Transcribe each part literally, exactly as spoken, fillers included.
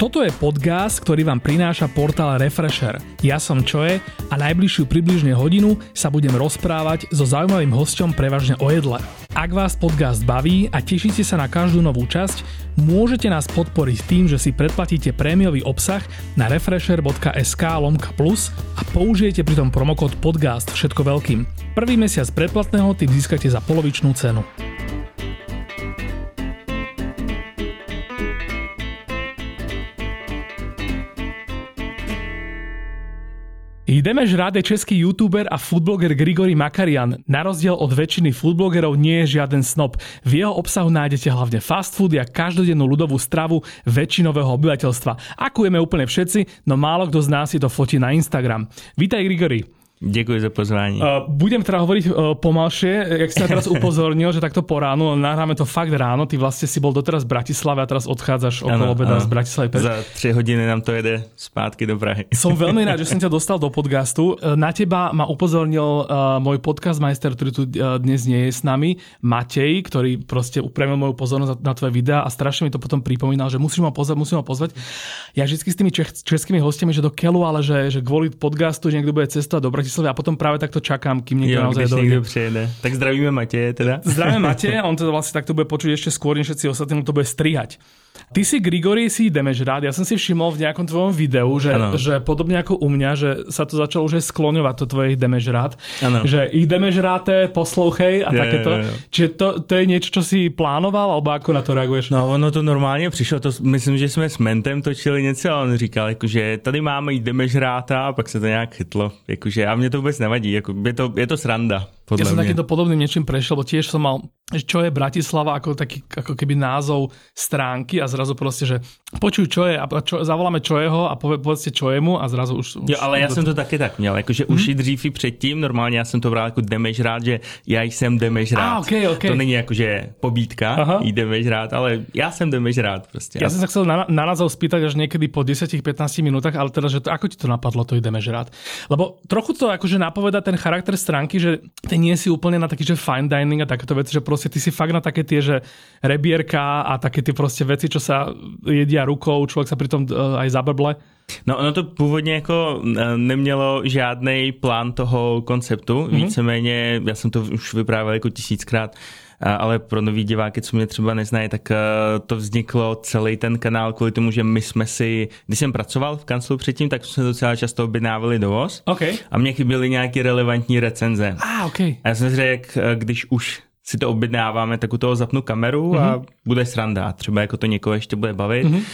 Toto je podcast, ktorý vám prináša portál Refresher. Ja som Čoje a najbližšiu približne hodinu sa budem rozprávať so zaujímavým hosťom prevažne o jedle. Ak vás podcast baví a tešíte sa na každú novú časť, môžete nás podporiť tým, že si predplatíte prémiový obsah na refresher.sk lomka plus a použijete pritom promokód podcast všetko veľkým. Prvý mesiac predplatného tým získate za polovičnú cenu. Jdeme žrát je český youtuber a foodbloger Grigory Makarian. Na rozdiel od väčšiny foodblogerov nie je žiaden snob. V jeho obsahu nájdete hlavne fast food a každodennú ľudovú stravu väčšinového obyvateľstva. Akujeme úplne všetci, no málo kto z nás si to fotí na Instagram. Vítaj Grigory. Děkuji za pozvání. Uh, budem teda hovoriť uh, pomalšie, jak si ma teraz upozornil, že takto po ránu, nahráme to fakt ráno, ty vlastne si bol doteraz v Bratislave a teraz odchádzaš okolo obeda z Bratislavy. Za tři hodiny nám to jede zpátky do Prahy. Som veľmi rád, že som ťa dostal do podcastu. Na teba ma upozornil uh, môj podcast majster, ktorý tu uh, dnes nie je s nami, Matej, ktorý proste upremil moju pozornosť na tvoje videá a strašne mi to potom pripomínal, že musím ho pozvať, musím ho pozvať. Ja vždycky s tými čech, českými hostiami, že do keľu, ale že, že kvôli podcastu, že niekto bude cestovať do Bratislavy a potom práve takto čakám, kým niekto jo, naozaj dojde. Niekto přijede. Tak zdravíme Mateje teda. Zdravíme Mateje, on to vlastne takto bude počuť ešte skôr, než všetci ostatní, to bude strihať. Ty si, Grigory, si ideme žrát. Ja som si všimol v nejakom tvojom videu, že, že podobne ako u mňa, že sa to začalo už skloňovať, to tvoje ideme žrát. Ano. Že ideme žráte, poslouchej a je, takéto. Je, je. Čiže to, to je niečo, čo si plánoval, alebo ako na to reaguješ? No, ono to normálně přišlo. To, myslím, že jsme s Mentem točili něco a on říkal, jakože tady máme jdeme žráta a pak se to nějak chytlo. Jakože, a mně to vůbec nevadí. Jako, je, to, je to sranda. Ja som takýmto podobným niečím prešiel, bo tiež som mal, čo je Bratislava, ako taký ako keby názov stránky a zrazu proste, že počuj, čo je a čo, zavoláme Čojeho a povie, povedzte Čojemu a zrazu už... Jo, ale já jsem to taky tak měl, jakože hmm? už i dřív i předtím, normálně já jsem to bral jako jdeme žrát, že já jsem jdeme žrát. Ah, okay, okay. To není jakože pobídka, aha, jdeme žrát, ale já jsem jdeme žrát prostě. Ja som sa chcel na, na názov spýtať až niekedy po desať až pätnásť minútach, ale teda, že to, ako ti to napadlo, to ideme žrát? Lebo trochu to akože napoveda ten charakter stránky, že ty nie si úplne na taký, že fine dining a takéto veci, že proste ty si fakt na také tie, že rebierka a také tie proste veci, čo sa jedia rukou, človek sa pritom aj zabrble. No ono to původně jako nemělo žádnej plán toho konceptu, mm-hmm. víceméně, já jsem to už vyprávěl jako tisíckrát, ale pro nový diváky, co mě třeba neznají, tak to vzniklo celý ten kanál kvůli tomu, že my jsme si, když jsem pracoval v kanclu předtím, tak jsme docela často objednávali dovoz okay. a mě chyběly nějaké relevantní recenze. Ah, okay. A já jsem si řekl, když už si to objednáváme, tak u toho zapnu kameru mm-hmm. a bude sranda. Třeba jako to někoho ještě bude bavit. Mm-hmm.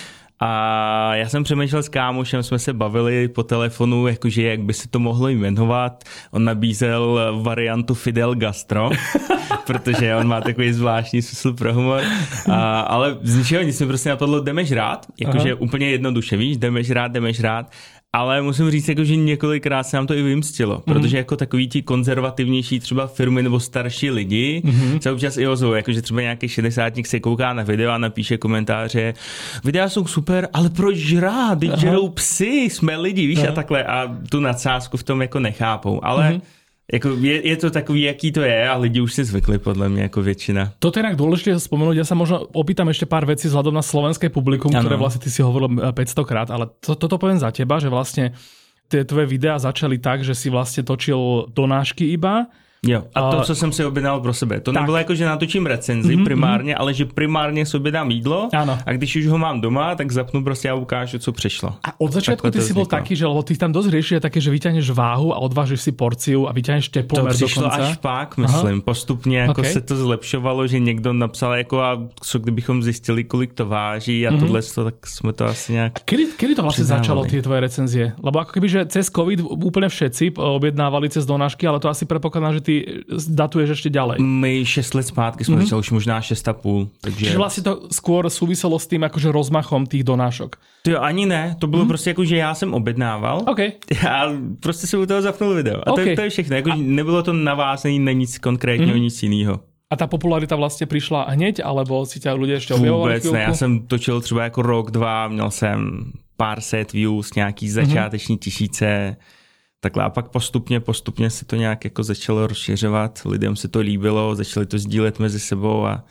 A já jsem přemýšlel s kámošem, jsme se bavili po telefonu, jakože jak by se to mohlo jmenovat. On nabízel variantu Fidel Gastro, protože on má takový zvláštní smysl pro humor. A, ale z ničeho nic mi prostě napadlo, jdeme žrát, jakože úplně jednoduše, víš, jdeme žrát, jdeme žrát. Ale musím říct, jako, že několikrát se nám to i vymstilo, mm-hmm. protože jako takový ti konzervativnější třeba firmy nebo starší lidi mm-hmm. se občas i ozvou, jakože třeba nějaký šedesátník se kouká na video a napíše komentáře, videa jsou super, ale proč žrát, teď žerou psy, jsme lidi, víš, aha. a takhle a tu nadsázku v tom jako nechápou, ale mm-hmm. Jako je, je to takový, jaký to je a lidi už si zvykli podľa mňa ako väčšina. Toto je inak dôležité spomenúť, ja sa možno opýtam ešte pár vecí vzhľadom na slovenské publikum, ano. Ktoré vlastne ty si hovoril päťsto krát, ale to, toto poviem za teba, že vlastne tie tvoje videá začali tak, že si vlastne točil donášky iba. Jo, a to, co jsem si objednal pro sebe. To tak. Nebylo jako, že natočím recenzi mm-hmm. primárně, ale že primárně si objednám jídlo ano. A když už ho mám doma, tak zapnu prostě a ukážu, co přišlo. A od začiatku ty si bol taký, že lebo ty tam dosť riešil také, že vyťahneš váhu a odvážiš si porciu a vyťahneš teplomer dokonca. To přišlo až pak, myslím. Aha. Postupně jako okay. se to zlepšovalo, že někdo napsal jako a co kdybychom zjistili, kolik to váží a mm-hmm. tohle, tak jsme to asi nějak a kedy, kedy to vlastne přidávali. Začalo tie tvoje recenzie? Lebo ako keby, že cez COVID úplne všetci objednávali cez donášky, ale to asi predpokladám, že ty datuješ ešte ďalej. My šest let zpátky jsme mm-hmm. začali, už možná šest a půl. Takže... Čiže vlastne to skôr súviselo s tým akože rozmachom tých donášok. To jo, ani ne, to bylo mm-hmm. prostě jako, že já jsem objednával okay. a prostě se u toho zapnul video. A okay. to, to je všechno, jako, a... nebylo to navázané na nic konkrétního, mm-hmm. nic jiného. A tá popularita vlastne prišla hneď, alebo si ťa ľudia ešte objavovali? Vůbec ne, já jsem točil třeba jako rok, dva, měl jsem pár set views, nějaký začáteční mm-hmm. tisíce. Takhle a pak postupně, postupně se to nějak jako začalo rozšiřovat, lidem se to líbilo, začali to sdílet mezi sebou a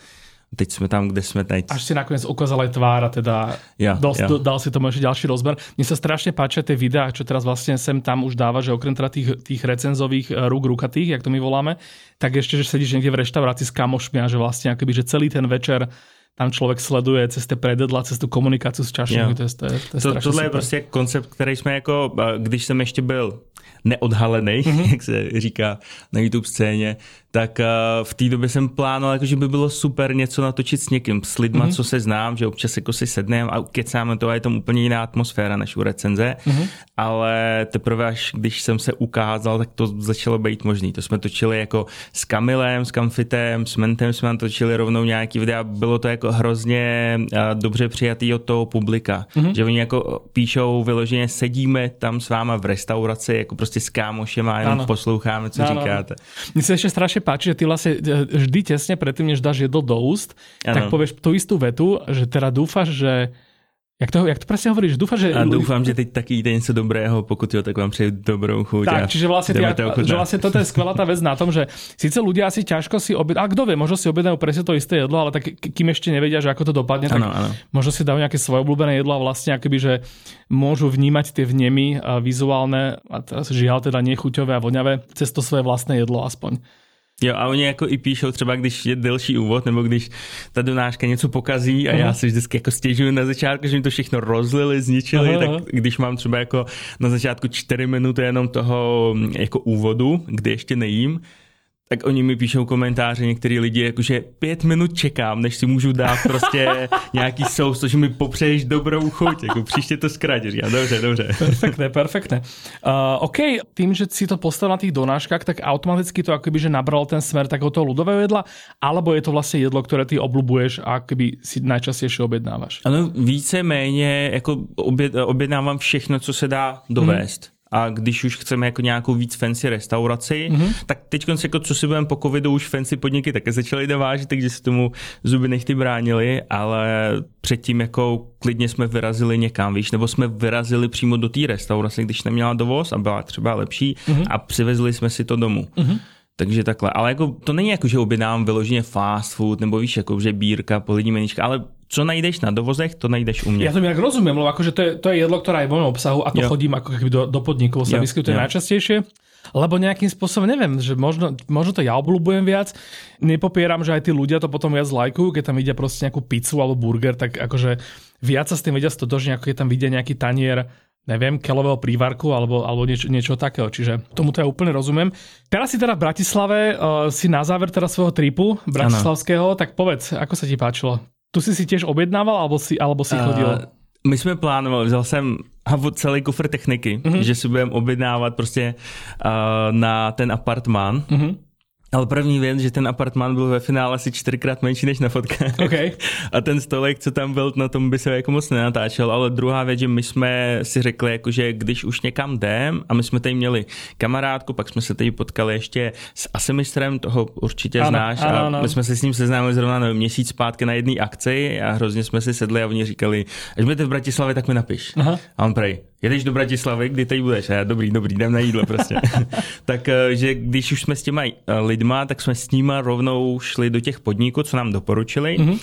Teď jsme tam, kde jsme teď. Až si nakoniec ukázal aj tvár a teda ja, dal, ja. dal si tomu ešte ďalší rozmer. Mne sa strašne páčia tie videá, čo teraz vlastne sem tam už dáva, že okrem teda tých, tých recenzových rúk rukatých, jak to my voláme, tak ešte, že sedíš niekde v reštaurácii s kamošmi a že vlastne akoby, že celý ten večer tam člověk sleduje cez ty predjedla, cez tu komunikaci s čašníky. To je, to je, to je to, strašně Tohle super. je prostě koncept, který jsme jako, když jsem ještě byl neodhalený, mm-hmm. jak se říká na YouTube scéně, tak v té době jsem plánoval, jako, že by bylo super něco natočit s někým, s lidma, mm-hmm. co se znám, že občas jako si sedneme a kecáme to a je tam úplně jiná atmosféra než u recenze, mm-hmm. ale teprve až když jsem se ukázal, tak to začalo být možný. To jsme točili jako s Kamilem, s Kamfitem, s Mentem jsme tam točili rovnou nějaký videa, bylo to jako hrozně dobře přijatý od toho publika, mm-hmm. že oni jako píšou vyloženě, sedíme tam s váma v restauraci, jako prostě s kámošem a jenom ano. posloucháme, co ano. říkáte. Mně se ještě strašně páči, že ty vlastně vždy těsně předtím, než dáš jedlo do úst, ano. tak povieš tu istú vetu, že teda dúfaš, že Jak to, jak to presne hovoríš? Dúfam, že... A dúfam, že teď taky jíte něco dobrého, pokud jo, tak vám přeju dobrou chuť. Tak, čiže vlastne, ja, že vlastne toto je skvelá tá vec na tom, že síce ľudia asi ťažko si objednajú, a kto vie, možno si objednajú presne to isté jedlo, ale tak kým ešte nevedia, že ako to dopadne, tak ano, ano. možno si dajú nejaké svoje obľúbené jedlo a vlastne akoby, že môžu vnímať tie vnemy vizuálne, a teraz žiaľ teda nechuťové a voňavé, cez to svoje vlastné jedlo aspoň. Jo, a oni jako i píšou třeba, když je delší úvod, nebo když ta donáška něco pokazí a uh-huh. já si vždycky jako stěžuju na začátku, že mi to všechno rozlili, zničili, uh-huh. tak když mám třeba jako na začátku čtyři minuty jenom toho jako úvodu, kdy ještě nejím, tak oni mi píšou komentáře, některý lidi, jakože pět minut čekám, než si můžu dát prostě nějaký sous, což mi popřeješ dobrou chuť, jako příště to zkrátíš. Ja, dobře, dobře. Perfektné, perfektné. Uh, OK, tým, že si to postavil na tých donáškach, tak automaticky to akoby, že nabral ten smer takého toho ľudového jedla, alebo je to vlastne jedlo, ktoré ty obľúbuješ a akoby si najčastejšie objednávaš? Ano, víceméně jako oběd, objednávám všechno, co se dá dovést. Hmm. A když už chceme jako nějakou víc fancy restauraci, mm-hmm. tak teď jako co si budeme po covidu, už fancy podniky také začaly dovážet, takže se tomu zuby nechty bránili, ale předtím jako klidně jsme vyrazili někam, víš, nebo jsme vyrazili přímo do té restaurace, když neměla dovoz a byla třeba lepší mm-hmm. a přivezli jsme si to domů. Mm-hmm. Takže takhle, ale jako to není jako, že objednávám vyloženě fast food, nebo víš, jako že bírka, polidní menička, ale co najdeš na dovozech, to najdeš u mě. Ja to nejak rozumiem, lebo akože to je, to je jedlo, ktoré je v mojom obsahu a to jo. chodím ako keby do, do podnikov, sa jo, vyskytuje jo. najčastejšie. Lebo nejakým spôsobom, neviem, že možno, možno to ja obľúbujem viac. Nepopieram, že aj tí ľudia to potom viac lajkujú, keď tam vidia proste nejakú pizzu alebo burger, tak akože viac sa s tým vedia stotožniť, ako keď tam vidia nejaký tanier, neviem, keľového prívarku alebo, alebo niečo, niečo takého. Čiže tomuto ja úplne rozumiem. Teraz si teda v Bratislave, uh, si na záver teda svojho tripu bratislavského, ano. Tak povedz, ako sa ti páčilo? Tu si si tiež objednával, alebo si, alebo si chodil? Uh, my jsme plánovali, vzal jsem celý kufr techniky, uh-huh. že si budeme objednávat prostě uh, na ten apartmán. Uh-huh. Ale první věc, že ten apartmán byl ve finále asi čtyřikrát menší než na fotkách. Okay. A ten stolek, co tam byl, na tom by se jako moc nenatáčel. Ale druhá věc, že my jsme si řekli, jako, že když už někam jdem, a my jsme tady měli kamarádku, pak jsme se tady potkali ještě s Asimistrem, toho určitě ano, znáš. Ano, ano. A my jsme se s ním seznámili zrovna nevím, měsíc zpátky na jedné akci a hrozně jsme si sedli a oni říkali, až budete v Bratislavě, tak mi napiš. Aha. A on prej, jedeš do Bratislavy, kdy tady budeš? A já, dobrý, dobrý, jdem na jídlo prostě. Tak, že když už jsme s těma lidma, tak jsme s nima rovnou šli do těch podniků, co nám doporučili. Mm-hmm.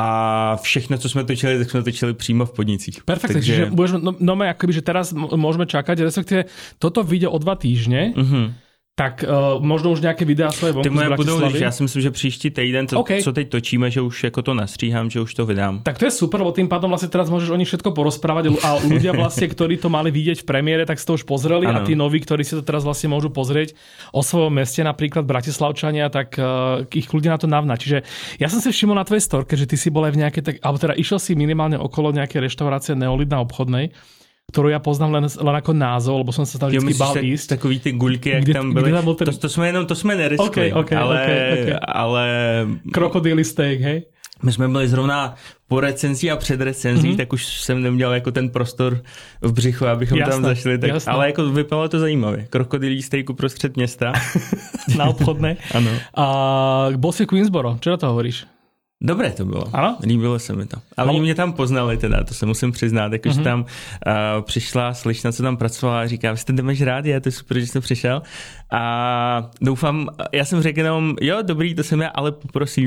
A všechno, co jsme točili, tak jsme točili přímo v podnicích. Perfektne, takže... čiže budeš, no, no akoby, že teraz môžeme čakať, respektíve toto vyjde o dva týždne, mm-hmm. tak uh, možno už nějaké videa svoje vonku z Bratislavy. Já si myslím, že příští týden, to, okay. co teď točíme, že už jako to nastříhám, že už to vydám. Tak to je super, lebo tým pádom vlastne teraz môžeš o nich všetko porozprávať a ľudia vlastne, ktorí to mali vidieť v premiére, tak si to už pozreli ano. A tí noví, ktorí si to teraz vlastne môžu pozrieť o svojom meste, napríklad Bratislavčania, tak uh, ich ľudia na to navná. Čiže ja som si všimol na tvojej storke, že ty si bol aj v nejakej, tak, alebo teda išiel si minimálne okolo nejakej reštaurácie Neolid na Obchodnej, ktorú ja poznám len, len ako názov, lebo som sa tam vždycky bál ísť. Takový ty guľky, jak kde, tam byly. Tam ten... to, to jsme jenom, to jsme neriskli, okay, okay, ale, okay, okay. ale... Krokodýly steak, hej? My jsme byli zrovna po recenzí a před recenzí, mm-hmm. tak už jsem neměl jako ten prostor v břichu, abychom jasné, tam zašli. Tak, ale jako vypadalo to zajímavě. Krokodýlí steak uprostřed města. Na Obchodné. Ano. A bol si Queensboro, čo na to hovoríš? Dobré to bylo. Ano? Líbilo se mi to. A oni mě tam poznali teda, to se musím přiznat, jakože mm-hmm. tam uh, přišla slečna, co tam pracovala a říká, vy jste jdemeš rád, je to je super, že jste přišel. A doufám, já jsem řekl jenom, jo, dobrý, to jsem já, ale poprosím,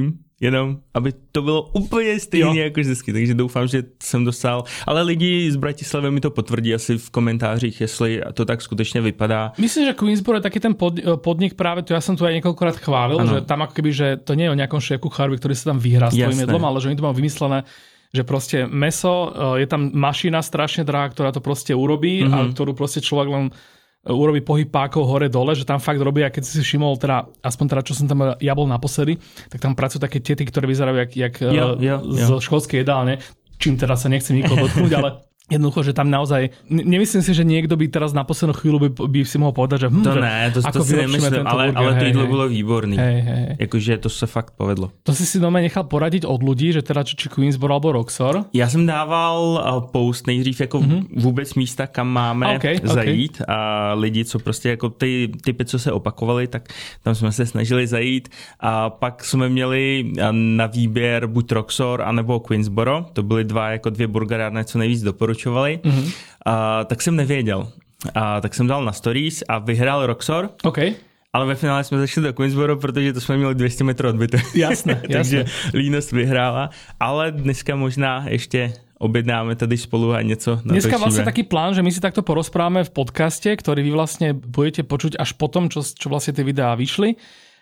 jenom aby to bylo úplně stejné jako vždycky, takže doufám, že jsem dostal, ale lidi z Bratislavy mi to potvrdí asi v komentářích, jestli to tak skutečně vypadá. Myslím, že Queensboro je taký ten pod, podnik práve, to ja som tu aj niekoľkokrát chválil, ano. Že tam ako keby, že to nie je o nejakom šéf-kuchárovi, ktorý sa tam vyhrá s tvojím jedlom, ale že oni to majú vymyslené, že proste mäso, je tam mašina strašne drahá, ktorá to proste urobí mm-hmm. a ktorú proste človek len urobí pohyb pákov hore-dole, že tam fakt robia, keď si všimol, teda, aspoň teda, čo som tam ja bol naposledy, tak tam pracujú také tety, ktoré vyzerajú jak, jak jo, jo, z jo. školskej jedálne, čím teda sa nechcem nikoho dotknúť, ale jednoducho, že tam naozaj, nemyslím si, že niekto by teraz na poslednú chvíľu by, by si mohol povedať, že hm, to ne, to, to si nemyslím, ale, burger, ale to jídlo bylo výborný. Hej, hej. Jakože to se fakt povedlo. To si si doma nechal poradiť od ľudí, že teda či, či Queensboro alebo Roxor? Já jsem dával post nejdřív jako mm-hmm. vůbec místa, kam máme okay, zajít okay. a lidi, co prostě jako ty typy, co se opakovali, tak tam jsme se snažili zajít a pak jsme měli na výběr buď Roxor anebo Queensboro, to byly dva jako dvě burgerárny, co nejvíc doporučovali. Mm-hmm. A, tak jsem nevěděl. A, tak jsem dal na stories a vyhrál Roxor. Okay. Ale ve finále jsme zašli do Queensboro, protože to jsme měli dvě stě metrů odbyté. Jasné, jasné. Takže línost vyhrála. Ale dneska možná ještě objednáme tady spolu a něco natočíme. Dneska vlastne taký plán, že my si takto porozprávame v podcaste, ktorý vy vlastne budete počuť až potom, čo, čo vlastne tie videá vyšli.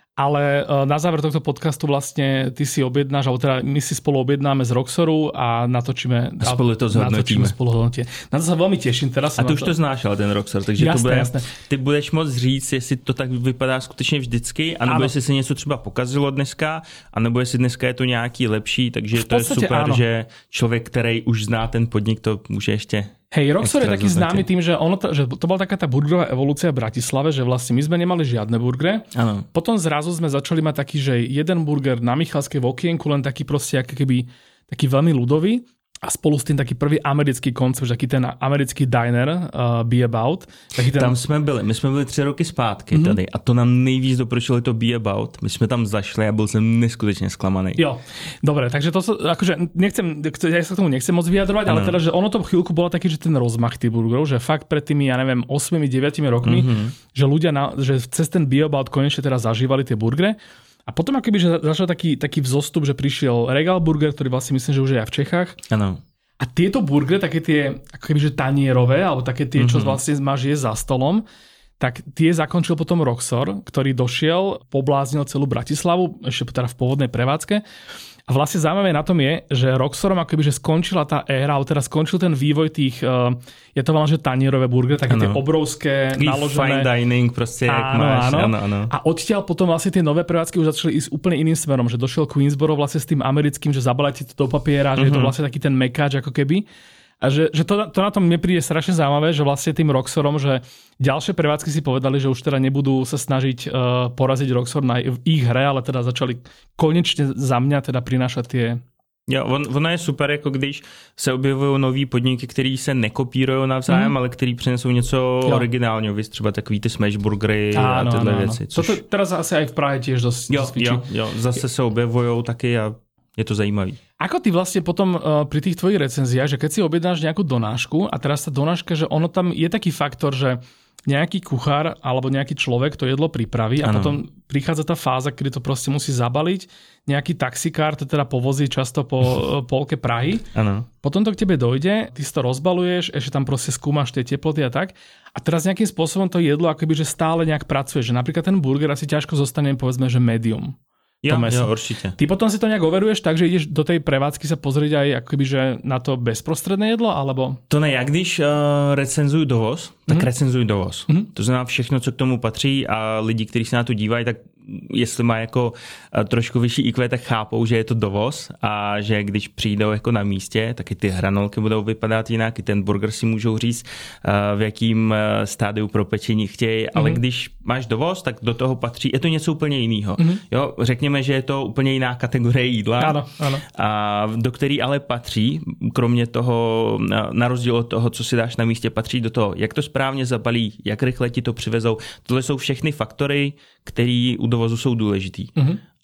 Ale na záver tohto podcastu vlastne ty si objednáš, alebo teda my si spolu objednáme z Roxoru a natočíme. A spolu to zhodnotíme. Na to sa veľmi teším. Teraz a ty už to znáš, ale ten Roxor, takže jasné, to bude, jasné. Ty budeš moc říct, jestli to tak vypadá skutečně vždycky, anebo ano. jestli se něco třeba pokazilo dneska, anebo jestli dneska je to nějaký lepší, takže to je super, áno. že člověk, který už zná ten podnik, to může ještě... Hej, Roxor je taký známy tým, že, ono to, že to bola taká tá burgerová evolúcia v Bratislave, že vlastne my sme nemali žiadne burgery. Ano. Potom zrazu sme začali mať taký, že jeden burger na Michalskej v okienku, len taký proste ako keby taký veľmi ľudový. A spolu s tým taký prvý americký koncept, taký ten americký diner uh, Be About. Taký ten... Tam jsme byli, my jsme byli tři roky zpátky mm-hmm. tady a to nám nejvíc doporučili to Be About. My jsme tam zašli a byl jsem neskutečně zklamaný. Jo, dobre, takže to sa, akože nechcem, ja sa k tomu nechcem moc vyjadrovať, ano. ale teda, že ono to v chvíľku bolo taký, že ten rozmach tých burgerov, že fakt pred tými, ja neviem, osem deväť rokmi, mm-hmm. že ľudia, na, že cez ten Be About konečne teraz zažívali tie burgery. A potom akoby, že začal taký, taký vzostup, že prišiel Regal Burger, ktorý vlastne myslím, že už je aj v Čechách. Áno. A tieto burgery, také tie akoby, že tanierové, alebo také tie, čo mm-hmm. vlastne máš jesť za stolom, tak tie zakončil potom Roxor, ktorý došiel, pobláznil celú Bratislavu, ešte teda v pôvodnej prevádzke. A vlastne zaujímavé na tom je, že Roxorom akoby, že skončila tá éra, alebo teda skončil ten vývoj tých, uh, je to veľmi, že tanierové burgery, také ano. Tie obrovské, taký naložené. Fine dining, proste, jak áno, máš. Áno. Áno, áno. A odtiaľ potom vlastne tie nové prevádzky už začali ísť úplne iným smerom, že došiel Queensboro vlastne s tým americkým, že zabalajte to do papiera, uh-huh. že je to vlastne taký ten mekáč ako keby. A že, že to, to na tom mne príde strašne zaujímavé, že vlastne tým Roxorom, že ďalšie prevádzky si povedali, že už teda nebudú sa snažiť uh, poraziť Roxor na ich hre, ale teda začali konečne za mňa teda prinášať tie... Jo, on, ono je super, jako když se objevují nový podniky, který se nekopírují navzájem, mm. ale který přinesou něco jo. originálního, víš, třeba takový ty smash burgery a tyhle věci. Což... To teraz asi aj v Prahe tiež dosť jo, jo, jo, zase se objevují taky a je to zajímavý. Ako ty vlastne potom uh, pri tých tvojich recenziách, že keď si objednáš nejakú donášku a teraz tá donáška, že ono tam je taký faktor, že nejaký kuchár alebo nejaký človek to jedlo pripraví a ano. Potom prichádza tá fáza, kedy to proste musí zabaliť. Nejaký taxikár to teda povozí často po polke Prahy. Ano. Potom to k tebe dojde, ty si to rozbaluješ, ešte tam proste skúmaš tie teploty a tak. A teraz nejakým spôsobom to jedlo akoby, že stále nejak pracuje. Že napríklad ten burger asi ťažko zostane, povedzme, že medium. Jo, jo, určite. Ty potom si to nejak overuješ tak, že ideš do tej prevádzky sa pozrieť aj akoby, že na to bezprostredné jedlo, alebo? To ne, ja když uh, recenzuju dovoz, tak mm-hmm. recenzuju dovoz. Mm-hmm. To znamená všechno, co k tomu patří a lidi, kteří se na to dívají, tak jestli má jako uh, trošku vyšší í kvé, tak chápou, že je to dovoz a že když přijdou jako na místě, tak i ty hranolky budou vypadat jinak, i ten burger si můžou říct, uh, v jakým uh, stádiu propečení chtějí, mm-hmm. ale když máš dovoz, tak do toho patří, je to něco úplně jiného. Mm-hmm. Jo, řekněme, že je to úplně jiná kategorie jídla, ano, ano. A do který ale patří, kromě toho, na rozdíl od toho, co si dáš na místě, patří do toho, jak to správně zabalí, jak rychle ti to přivezou. Tohle jsou všechny faktory, které u dovozu jsou důležitý. Mm-hmm.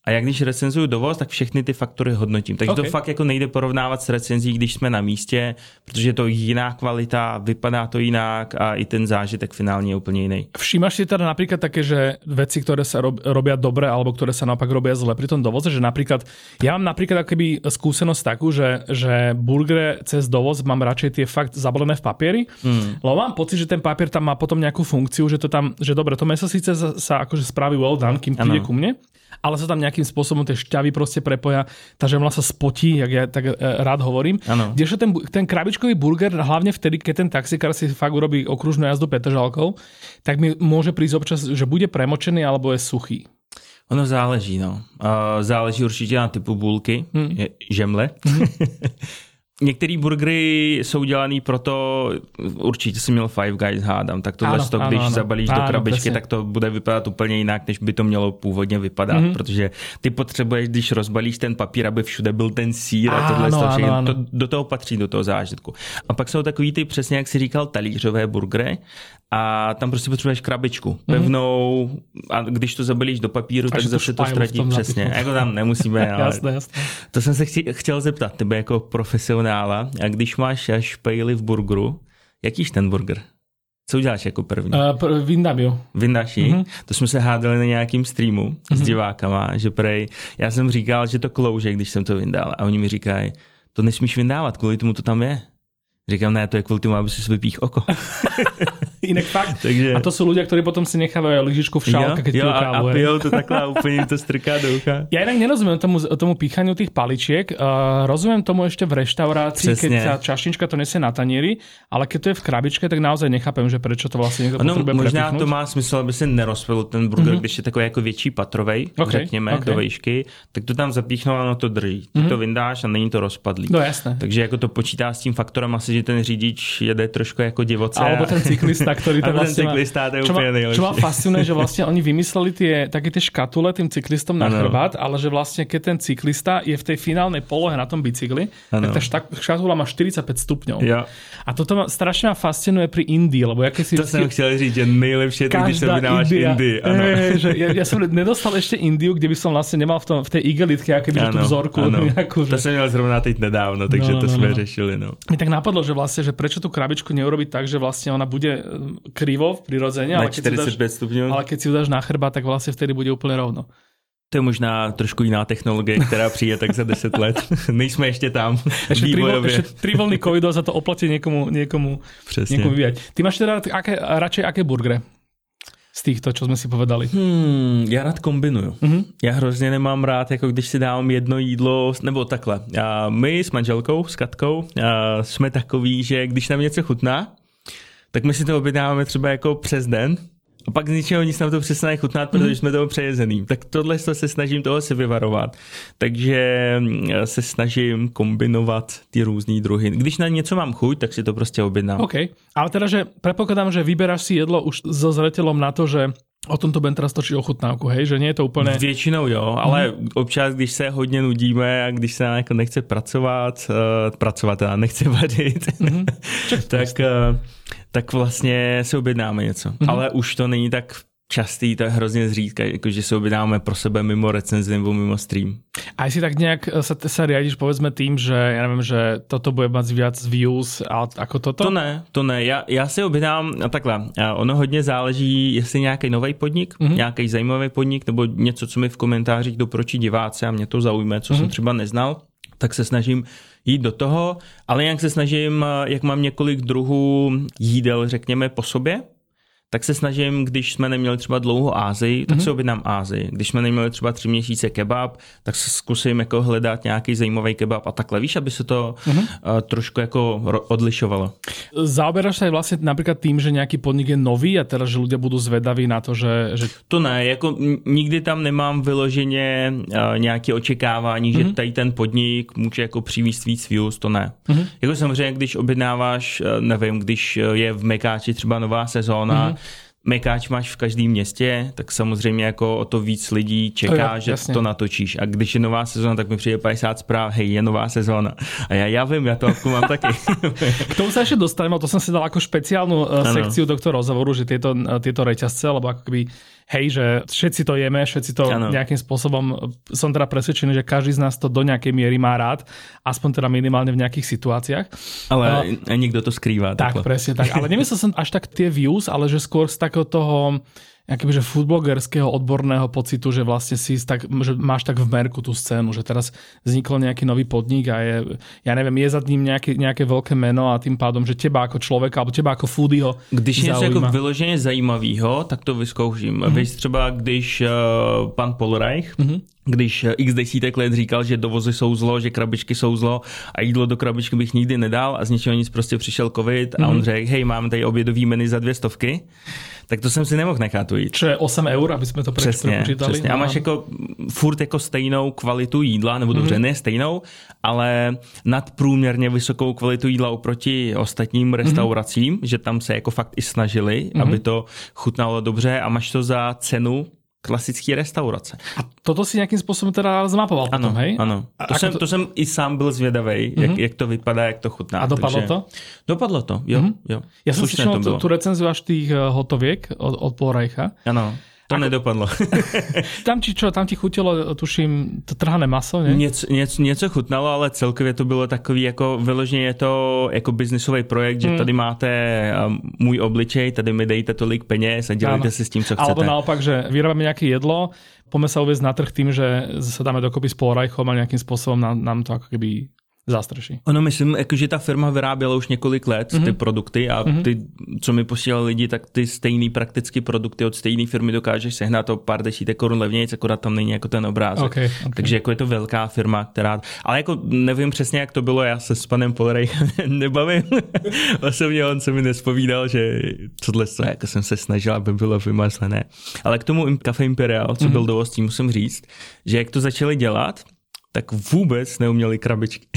A já když recenzuju dovoz, tak všechny ty faktory hodnotím. Takže okay. to fakt jako nejde porovnávat s recenzí, když jsme na místě, protože je to jiná kvalita, vypadá to jinak a i ten zážitek finálně je úplně jiný. Všímaš si teda napríklad také, že veci, ktoré sa rob, robia dobre alebo ktoré sa naopak robia zle pri tom dovoze, že napríklad ja mám napríklad akoby skúsenosť takú, že, že burgery cez dovoz mám radšej tie fakt zabalené v papieri, mm. lebo mám pocit, že ten papier tam má potom nejakú funkciu, že to tam, že dobre, to meso síce sa akože spraví well done, kým príde ku mne, ale sa tam nejakým spôsobom tie šťavy proste prepoja, tá žemla sa spotí, jak ja tak rád hovorím. Kdežto ten, ten krabičkový burger, hlavne vtedy, keď ten taxikár si fakt urobí okružnú jazdu petržalkou, tak mi môže prísť občas, že bude premočený alebo je suchý. Ono záleží, no. Uh, záleží určitě na typu bulky, hmm. je, žemle. Hmm. Některé burgery jsou dělaný proto, určitě jsem měl Five Guys, hádám, tak tohle, ano, to, když ano, zabalíš ano, do krabičky, přesně. Tak to bude vypadat úplně jinak, než by to mělo původně vypadat, mm-hmm. protože ty potřebuješ, když rozbalíš ten papír, aby všude byl ten sýr a tohle, ano, to, ano, to do toho patří, do toho zážitku. A pak jsou takový ty, přesně jak jsi říkal, talířové burgery, a tam prostě potřebuješ krabičku pevnou a když to zabalíš do papíru, tak zase to ztratí přesně. Napichu. Jako tam nemusíme. Ale jasné, jasné. To jsem se chci, chtěl zeptat tebe jako profesionála, a když máš špejly v burgeru, jakýž ten burger? Co uděláš jako první? Uh, pr- vyndám jo. Vyndáš ji? Uh-huh. To jsme se hádali na nějakým streamu uh-huh. s divákama, že prej, já jsem říkal, že to klouže, když jsem to vyndal a oni mi říkají, to nesmíš vyndávat, kvůli tomu to tam je. Říkám, ne, to je kvůli tomu, aby si vypích oko. Inak fakt. Takže... A to sú ľudia, ktorí potom si nechávajú lyžičku v šálke, keď pijú kávu. A pijou to takhle a úplne to strká do ucha. Ja inak nerozumiem tomu, tomu píchaniu tých paličiek. Uh, rozumiem tomu ešte v reštaurácii, keď sa čašnička to nesie na tanieri, ale keď to je v krabičke, tak naozaj nechápem, že prečo to vlastne niekto no, potrebuje možná prepichnúť. To má smysl, aby se nerozpadl ten burger, mm-hmm. když je takový jako větší patrovej, okay, řekněme, okay. do vejšky, tak to tam zapíchnou a ono to drží. Ty mm-hmm. to vyndáš a není to rozpadlý. No jasné. Takže jako to počítá s tím faktorem asi, že ten řidič jede trošku jako divoce. Alebo ten cyklista, ktorý to vlastne cyklista, to je úplne nejlepšie. Čo ma fascinuje, že vlastne oni vymysleli tie, také tie škatule tým cyklistom na chrbát, ale že vlastne keď ten cyklista je v tej finálnej polohe na tom bicykli, ano. tak tá škatula má štyridsaťpäť stupňov. Ja. A toto ma strašne ma fascinuje pri Indii, lebo ja keď si... To som chcel říct, že nejlepšie je to, když sa vydávaš Indii. E, že ja, ja som nedostal ešte Indiu, kde by som vlastne nemal v, tom, v tej igelitke, akoby tú vzorku. Nejakú, že... To som měl zrovna teď nedávno, takže no, to no, sme no. řešili. No. Mi tak napadlo, že vlastne, že prečo tú krabičku neurobiť tak, že vlastne ona bude krivo prirodzene, ale, ale keď si ju dáš na chrba, tak vlastne vtedy bude úplne rovno. To je možná trošku jiná technologie, která přijde tak za deset let. Nejsme ještě tam. Ešte tri vlny covidu a za to oplatí niekomu, niekomu, niekomu vyvíjať. Ty máš teda aké, radšej aké burgery? Z týchto, čo jsme si povedali. Hmm, já rád kombinuju. Mm-hmm. Já hrozně nemám rád, jako když si dávám jedno jídlo, nebo takhle. A my s manželkou, s Katkou, jsme takový, že když nám něco chutná, tak my si to objednáváme třeba jako přes den a pak z ničeho nic nám to přestane chutnat, protože jsme toho přejezený. Tak tohle se snažím toho se vyvarovat. Takže se snažím kombinovat ty různý druhy. Když na něco mám chuť, tak si to prostě objednám. OK. Ale teda, že predpokladám, že vyberáš si jedlo už so zreteľom na to, že o tomto budem teraz točiť ochutnávku, hej? Že nie je to úplně... Většinou jo, ale mm. občas, když se hodně nudíme a když se jako nechce pracovat, uh, pracovat teda nechce vařit, mm-hmm. tak, uh, tak vlastně se objednáme něco. Mm-hmm. Ale už to není tak častý, to je hrozně zřídka, jakože se objednáme pro sebe mimo recenzi nebo mimo stream. A si tak nejak sa, sa riadiš povedzme tým, že ja neviem, že toto bude mať viac views ako toto? To ne, to ne. Já, já si objednám takhle. Ono hodně záleží, jestli nějaký nový podnik, mm-hmm. nějaký zajímavý podnik, nebo něco, co mi v komentářích doporučí diváci a mě to zaujme, co mm-hmm. jsem třeba neznal, tak se snažím jít do toho, ale jak se snažím, jak mám několik druhů jídel, řekněme, po sobě, tak se snažím, když jsme neměli třeba dlouho Ázii, tak mm-hmm. se objednám Ázii. Když jsme neměli třeba tři měsíce kebab, tak se zkusím jako hledat nějaký zajímavý kebab a takhle, víš, aby se to mm-hmm. uh, trošku jako odlišovalo. Zaoberáš sa aj vlastne napríklad tým, že nejaký podnik je nový a teraz, že ľudia budú zvedaví na to, že... že... To ne, jako nikdy tam nemám vyloženě uh, nějaké očekávání, mm-hmm. že tady ten podnik může jako přivízt víc views, to ne. Mm-hmm. Jako samozřejmě, když objednáváš, uh, nevím, když je v Mekáči třeba nová sezóna, mm-hmm. Mekáč máš v každém městě, tak samozřejmě jako o to víc lidí čeká, jo, že jasně. to natočíš. A když je nová sezóna, tak mi přijde padesát zpráv, hej, je nová sezóna. A já, já vím, já to mám taky. K tomu sa ešte dostaneme, to som si dal ako špeciálnu ano. sekciu tohto rozhovoru, že tieto, tieto reťazce, alebo akoby hej, že všetci to jeme, všetci to ano. Nejakým spôsobom, som teda presvedčený, že každý z nás to do nejakej miery má rád, aspoň teda minimálne v nejakých situáciách. Ale uh, niekto to skrýva. Tak, takhle. Presne tak. Ale nemyslel som až tak tie views, ale že skôr z takého toho akobyže foodblogerského odborného pocitu, že vlastne si tak, že máš tak v merku tú scénu, že teraz vznikol nejaký nový podnik a je, ja neviem, je za ním nejaké, nejaké veľké meno a tým pádom, že teba ako človeka, alebo teba ako foodieho když něco jako vyloženě zajímavého, tak to vyzkouším. Mm-hmm. Víš třeba, když uh, pan Polreich, mm-hmm. když x desítek let říkal, že dovozy jsou zlo, že krabičky jsou zlo a jídlo do krabičky bych nikdy nedal a z ničeho nic prostě přišel covid a mm-hmm. on řekl, hej, mám tady obědový menu za dvě stovky, tak to jsem si nemohl nechat ujít. Čo je osm eur, aby jsme to přesně, prepočítali. Přesně. A máš jako furt jako stejnou kvalitu jídla, nebo dobře, mm-hmm. ne stejnou, ale nadprůměrně vysokou kvalitu jídla oproti ostatním restauracím, mm-hmm. že tam se jako fakt i snažili, mm-hmm. aby to chutnalo dobře a máš to za cenu klasické restaurace. A toto si nějakým způsobem teda zmapoval ano, potom, hej? Ano, to jsem, to... to jsem i sám byl zvědavej, mm-hmm. jak, jak to vypadá, jak to chutná. A dopadlo takže... to? Dopadlo to, jo. Mm-hmm. jo. Já jsem slyšel tu, tu recenziu až tých hotoviek od, od Polreicha. Ano. To ako... nedopadlo. Tam ti čo, tam ti chutilo, tuším, to trhané maso, ne? Něco, něco, něco chutnalo, ale celkově to bylo takový, jako vyloženě je to jako biznisový projekt, že hmm. tady máte um, můj obličej, tady mi dejte tolik peněz a dělejte si s tím, co chcete. Alebo naopak, že vyrábame nejaké jedlo, poďme sa uviesť na trh tým, že sa dáme dokopy s Polreichom a nejakým spôsobom nám, nám to ako keby zástraší. Ono myslím, jako, že ta firma vyráběla už několik let mm-hmm. ty produkty a mm-hmm. ty, co mi posílali lidi, tak ty stejný prakticky produkty od stejné firmy dokážeš sehnat o pár desítek korun levnějc, akorát tam není jako ten obrázek. Okay, okay. Takže jako je to velká firma, která... Ale jako nevím přesně, jak to bylo, já se s panem Polreichem nebavím. Osobně on se mi nespovídal, že tohle jako jsem se snažil, aby bylo vymyslené. Ale k tomu Café Imperial, co mm-hmm. byl dovozcí, musím říct, že jak to začali dělat, tak vůbec neuměli krabičky.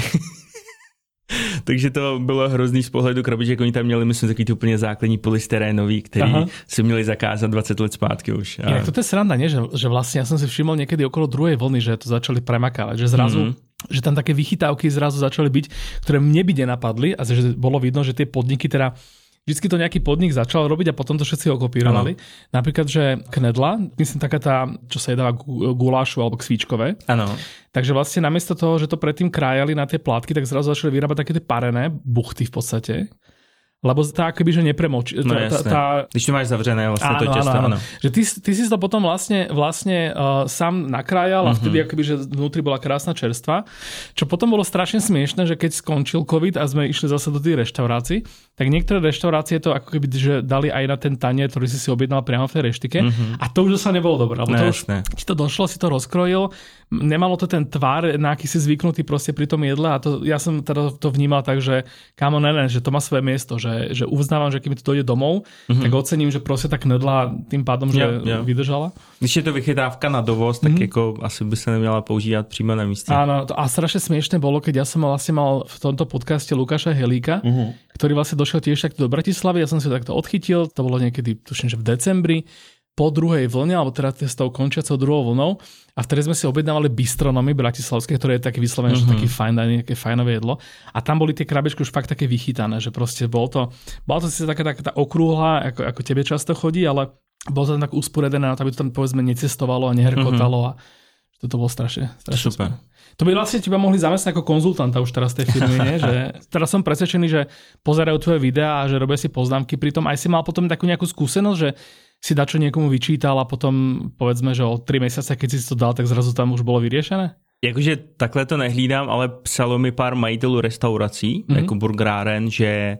Takže to bylo hrozný z pohledu krabiček. Oni tam měli, myslím, takový ty úplně základní polystyrénový, který Aha. si měli zakázat dvacet let zpátky už. A... Inak to je sranda, nie? Že, že vlastne ja som si všimol niekedy okolo druhej vlny, že to začali premakávať, že zrazu mm-hmm. že tam také vychytávky zrazu začali byť, ktoré mne by nenapadli a že bolo vidno, že tie podniky teda vždycky to nejaký podnik začal robiť a potom to všetci okopírovali. Ano. Napríklad, že knedla, myslím taká tá, čo sa jedáva gulášu alebo kvíčkové. Áno. Takže vlastne namiesto toho, že to predtým krájali na tie plátky, tak zrazu začali vyrábať také tie parené buchty v podstate. Lebo tá akoby, že nepremočí. No tá, jasné. Tá... Když to máš zavřené, vlastne áno, to těsto, áno. áno. Že ty, ty si to potom vlastne, vlastne uh, sám nakrájal a vtedy mm-hmm. akoby, že vnútri bola krásna čerstva. Čo potom bolo strašne smiešné, že keď skončil COVID a sme išli zase do tých reštaurácií, tak niektoré reštaurácie to ako keby, že dali aj na ten tanier, ktorý si si objednal priamo v tej reštike. Mm-hmm. A to už sa nebolo dobré. Lebo no, to už, ti to došlo, si to rozkrojil, nemalo to ten tvar, na aký si zvyknutý proste pri tom jedle a to, ja som teda to vnímal tak, že kámo, ne, ne, že to má svoje miesto, že Že, že uznávam, že keď mi to dojde domov, mm-hmm. tak ocením, že proste tá knedla tým pádom, že yeah, yeah. vydržala. Když je to vychytávka na dovoz, tak mm-hmm. jako asi by sa neměla používať přímo na místě. Áno, to, a strašne smiešne bolo, keď ja som vlastne mal v tomto podcaste Lukáša Helíka, mm-hmm. ktorý vlastne došiel tiež takto do Bratislavy, ja som si to takto odchytil, to bolo niekedy, tuším, že v decembri, po druhej vlne, alebo teda s tou končiacou druhou vlnou. A vtedy sme si objednávali bistronomy bratislavské, ktoré je také vyslovené, mm-hmm. že taký fajn, nejaké fajnové jedlo. A tam boli tie krabičky už fakt také vychytané, že proste bol to, bola to si taká, taká tá okrúhla, ako, ako tebe často chodí, ale bolo to tam tak usporedené na to, aby to tam povedzme necestovalo a nehrkotalo mm-hmm. a toto bolo strašne, strašne super. Super. To by vlastne teba mohli zamestnať ako konzultanta už teraz tej firmy, nie? Že teraz som presvedčený, že pozerajú tvoje videá a že robia si poznámky, pritom aj si mal potom takú nejakú skúsenosť, že si dačo niekomu vyčítal a potom povedzme, že o tri mesiace, keď si to dal, tak zrazu tam už bolo vyriešené? Jakože takhle to nehlídám, ale psalo mi pár majitelů restaurací, mm-hmm. jako burgeráren, že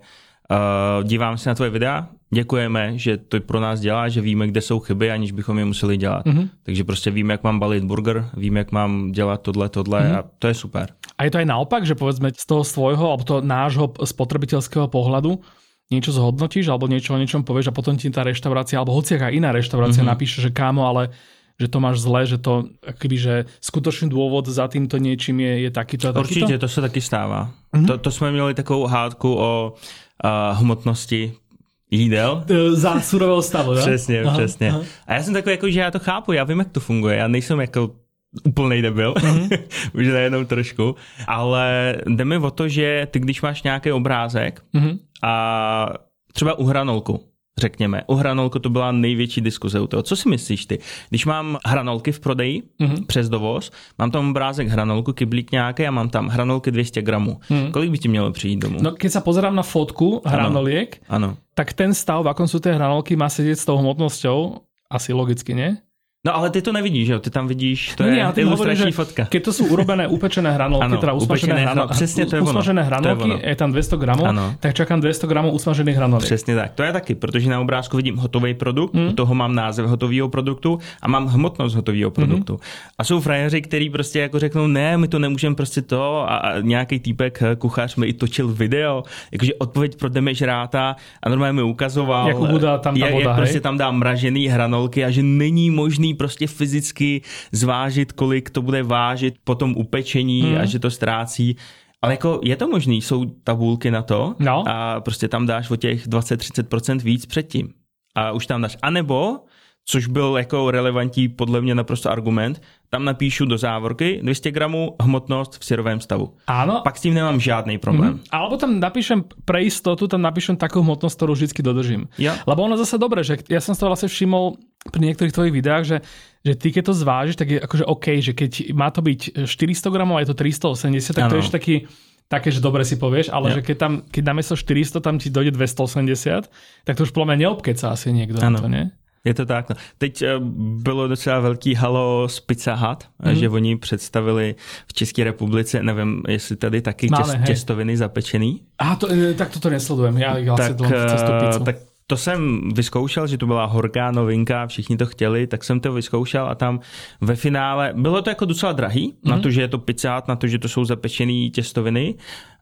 uh, dívám se na tvoje videa, děkujeme, že to pro nás dělá, že víme, kde jsou chyby, aniž bychom je museli dělat. Mm-hmm. Takže prostě víme, jak mám balit burger, víme, jak mám dělat tohle, tohle mm-hmm. a to je super. A je to aj naopak, že povedzme z toho svojho, alebo toho nášho spotrebiteľského pohľadu niečo zhodnotíš, alebo niečo o niečom povieš a potom ti tá reštaurácia, alebo hociaká iná reštaurácia mm-hmm. napíše, že kámo, ale že to máš zle, že to akoby, že skutočný dôvod za týmto niečím je, je takýto a takýto? Určitě, to se taky stává. Mm-hmm. To, to jsme měli takovou hádku o uh, hmotnosti jídel. Za surového stavu, ne? Přesně, aha, přesně. Aha. A já jsem takový, jako, že já to chápu, já vím, jak to funguje, já nejsem jako úplnej debil, mm-hmm. už nejenom trošku, ale jde mi o to, že ty když máš nějaký obrázek mm-hmm. a třeba u hranolku, řekněme. U hranolku to byla největší diskuze u toho. Co si myslíš ty? Když mám hranolky v prodeji mm-hmm. přes dovoz, mám tam obrázek hranolku, kyblík nějaký a mám tam hranolky dvě stě gramů. Mm. Kolik by ti mělo přijít domů? No keď sa pozerám na fotku hranoliek, ano. Ano. tak ten stav, v akom sú tie hranolky, má sedieť s tou hmotnosťou, asi logicky, nie? No ale ty to nevidíš, že jo? Ty tam vidíš, to no, je ilustrační fotka. Keď to sú urobené upečené hranolky, ano, teda usmažené hranolky, přesně to je usmažené hranolky, je, je tam dvesto gramů, ano. tak čakám dvesto gramů usmažených hranolek. Přesně tak. To je taky, protože na obrázku vidím hotový produkt, hmm. u toho mám název hotového produktu a mám hmotnost hotového produktu. Hmm. A jsou frajeři, kteří prostě jako řeknou, ne, my to nemůžeme prostě to a, a nějaký týpek kuchař mi i točil video, jakože odpověď pro demežráta a normálně mi ukazoval, jak, Buda, tam ta voda, jak prostě tam dá mražený hranolky a že není možný prostě fyzicky zvážit, kolik to bude vážit po tom upečení hmm. a že to ztrácí. Ale jako je to možný, jsou tabulky na to no. a prostě tam dáš o těch dvacet až třicet procent víc předtím. A už tam dáš. A nebo, což byl jako relevantní podle mě naprosto argument, tam napíšu do závorky dvě stě gramů hmotnost v syrovém stavu. Áno. Pak s tím nemám žádný problém. Mm-hmm. Alebo tam napíšem pre istotu, tam napíšem takú hmotnosť, ktorú vždycky dodržím. Ja. Lebo ono zase dobre, že ja som to vlastne všimol pri niektorých tvojich videách, že, že ty keď to zvážiš, tak je akože OK, že keď má to byť štyristo gramov a je to tristoosemdesiat, tak ano. To je ešte taký také, že dobre si povieš, ale ja. že keď tam, keď namiesto štyristo tam ti dojde dvestoosemdesiat, tak to už podľa mňa neobkeca asi niekto na to, nie? Je to tak. No. Teď bylo docela velký halo z Pizza Hut, mm. že oni představili v České republice, nevím, jestli tady taky Máme, těst, těstoviny zapečený. Aha, to, tak toto nesledujem. Já vlastně to cestu pizzu. Tak to jsem vyzkoušel, že to byla horká novinka, všichni to chtěli, tak jsem to vyzkoušel a tam ve finále bylo to jako docela drahý, mm. na to, že je to Pizza Hut, na to, že to jsou zapečený těstoviny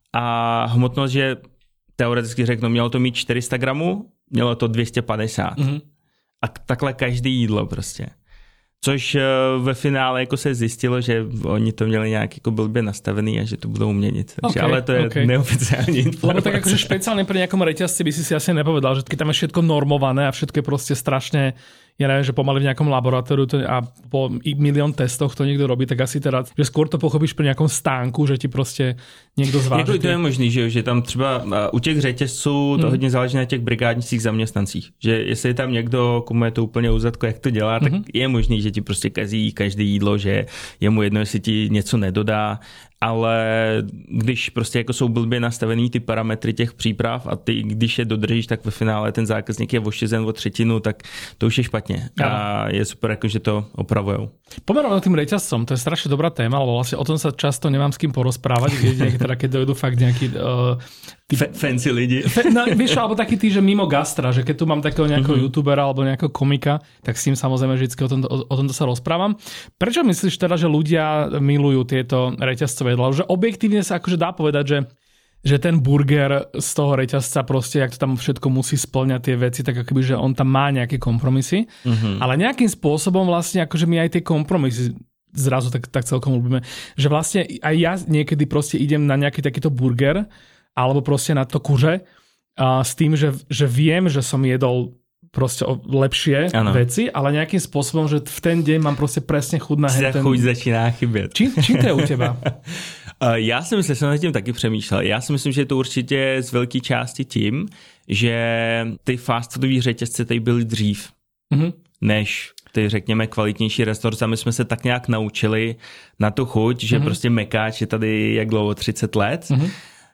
a hmotnost, že teoreticky řeknu, mělo to mít čtyři sta gramů, mělo to dvě stě padesát. Mm. A takhle každý jídlo prostě. Což ve finále jako se zjistilo, že oni to měli nějak jako blbě nastavený a že to budou měnit. Takže, okay, ale to je okay. Neoficiální informace. Lebo tak akože špeciálne pri nejakom reťazci by si si asi nepovedal, že keď tam je všetko normované a všetko je proste strašne, ja neviem, že pomaly v nejakom laboratóriu a po milión testoch to niekto robí, tak asi teda, že skôr to pochopíš pri nejakom stánku, že ti proste niekto zváži. Jako to je možný, že, že tam třeba u těch řetězců to hmm. hodně záleží na těch brigádnických zaměstnancích. Že jestli je tam někdo, komu je to úplně uzadko, jak to dělá, tak hmm. je možný, že ti prostě kazí každé jídlo, že je mu jedno, jestli ti něco nedodá. Ale když prostě jako jsou blbě nastavený ty parametry těch příprav a ty, když je dodržíš, tak ve finále ten zákazník je ošizen o třetinu, tak to už je špatně. A ja. Je super, jako, že to opravujou. Pomerom tým reťazcom, to je strašne dobrá téma, lebo vlastne o tom sa často nemám s kým porozprávať, keď, teda, keď dojdu fakt nejaký... Uh, F- fancy lidi. Fe, no, vieš, alebo taký tí, že mimo gastra, že keď tu mám takého nejakého uh-huh. youtubera alebo nejakého komika, tak s tým samozrejme vždy o tomto, o, o tomto sa rozprávam. Prečo myslíš teda, že ľudia milujú tieto reťazcové jedlá? Že objektívne sa akože dá povedať, že, že ten burger z toho reťazca proste, jak to tam všetko musí spĺňať tie veci, tak akoby, že on tam má nejaké kompromisy, uh-huh. ale nejakým spôsobom vlastne akože my aj tie kompromisy zrazu tak, tak celkom ľúbime. Že vlastne aj ja niekedy proste idem na nejaký takýto burger alebo proste na to kuře a s tým, že, že viem, že som jedol proste lepšie ano. Veci, ale nejakým spôsobom, že v ten deň mám proste presne chuť na ten... chuť začíná chybět. Čím, čím to je u teba? Já si myslím, že jsem nad tím taky přemýšlel. Já si myslím, že je to určitě z velké části tím, že ty fast foodové řetězce tady byly dřív, mm-hmm. než ty, řekněme, kvalitnější restaurace. My jsme se tak nějak naučili na tu chuť, že mm-hmm. prostě Mekáč je tady jak dlouho, třicet let. Mm-hmm.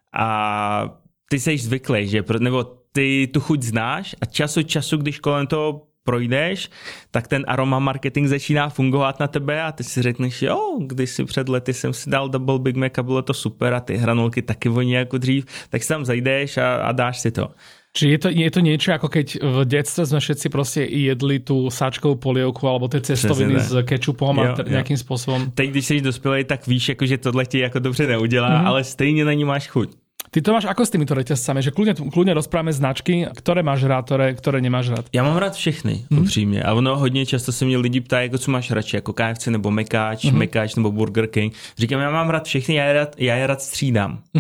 A ty seš zvyklý, že nebo ty tu chuť znáš a čas od času, když kolem toho projdeš, tak ten aroma marketing začíná fungovat na tebe a ty si řekneš, jo, když si před lety jsem si dal double Big Mac a bylo to super a ty hranolky taky voní jako dřív, tak si tam zajdeš a, a dáš si to. Či je to, je to niečo, ako keď v detstve sme všetci proste jedli tú sáčkovú polievku alebo tie cestoviny s kečupom a t- nejakým spôsobom. Teď, když jsi dospělej, tak víš, jako, že tohle ti jako dobře neudělá, mm-hmm. ale stejně na ní máš chuť. Ty to máš ako s týmito reťazcami? Že kľudne, kľudne rozprávame značky, ktoré máš rád, ktoré, ktoré nemáš rád. Já mám rád všechny, mm-hmm. upřímně. A ono hodně často se mě lidi ptají, jako co máš radši, jako K F C nebo Mekáč, mm-hmm. Mekáč nebo Burger King. Říkám, já mám rád všechny, já je rád, já je rád střídám. Mm-hmm.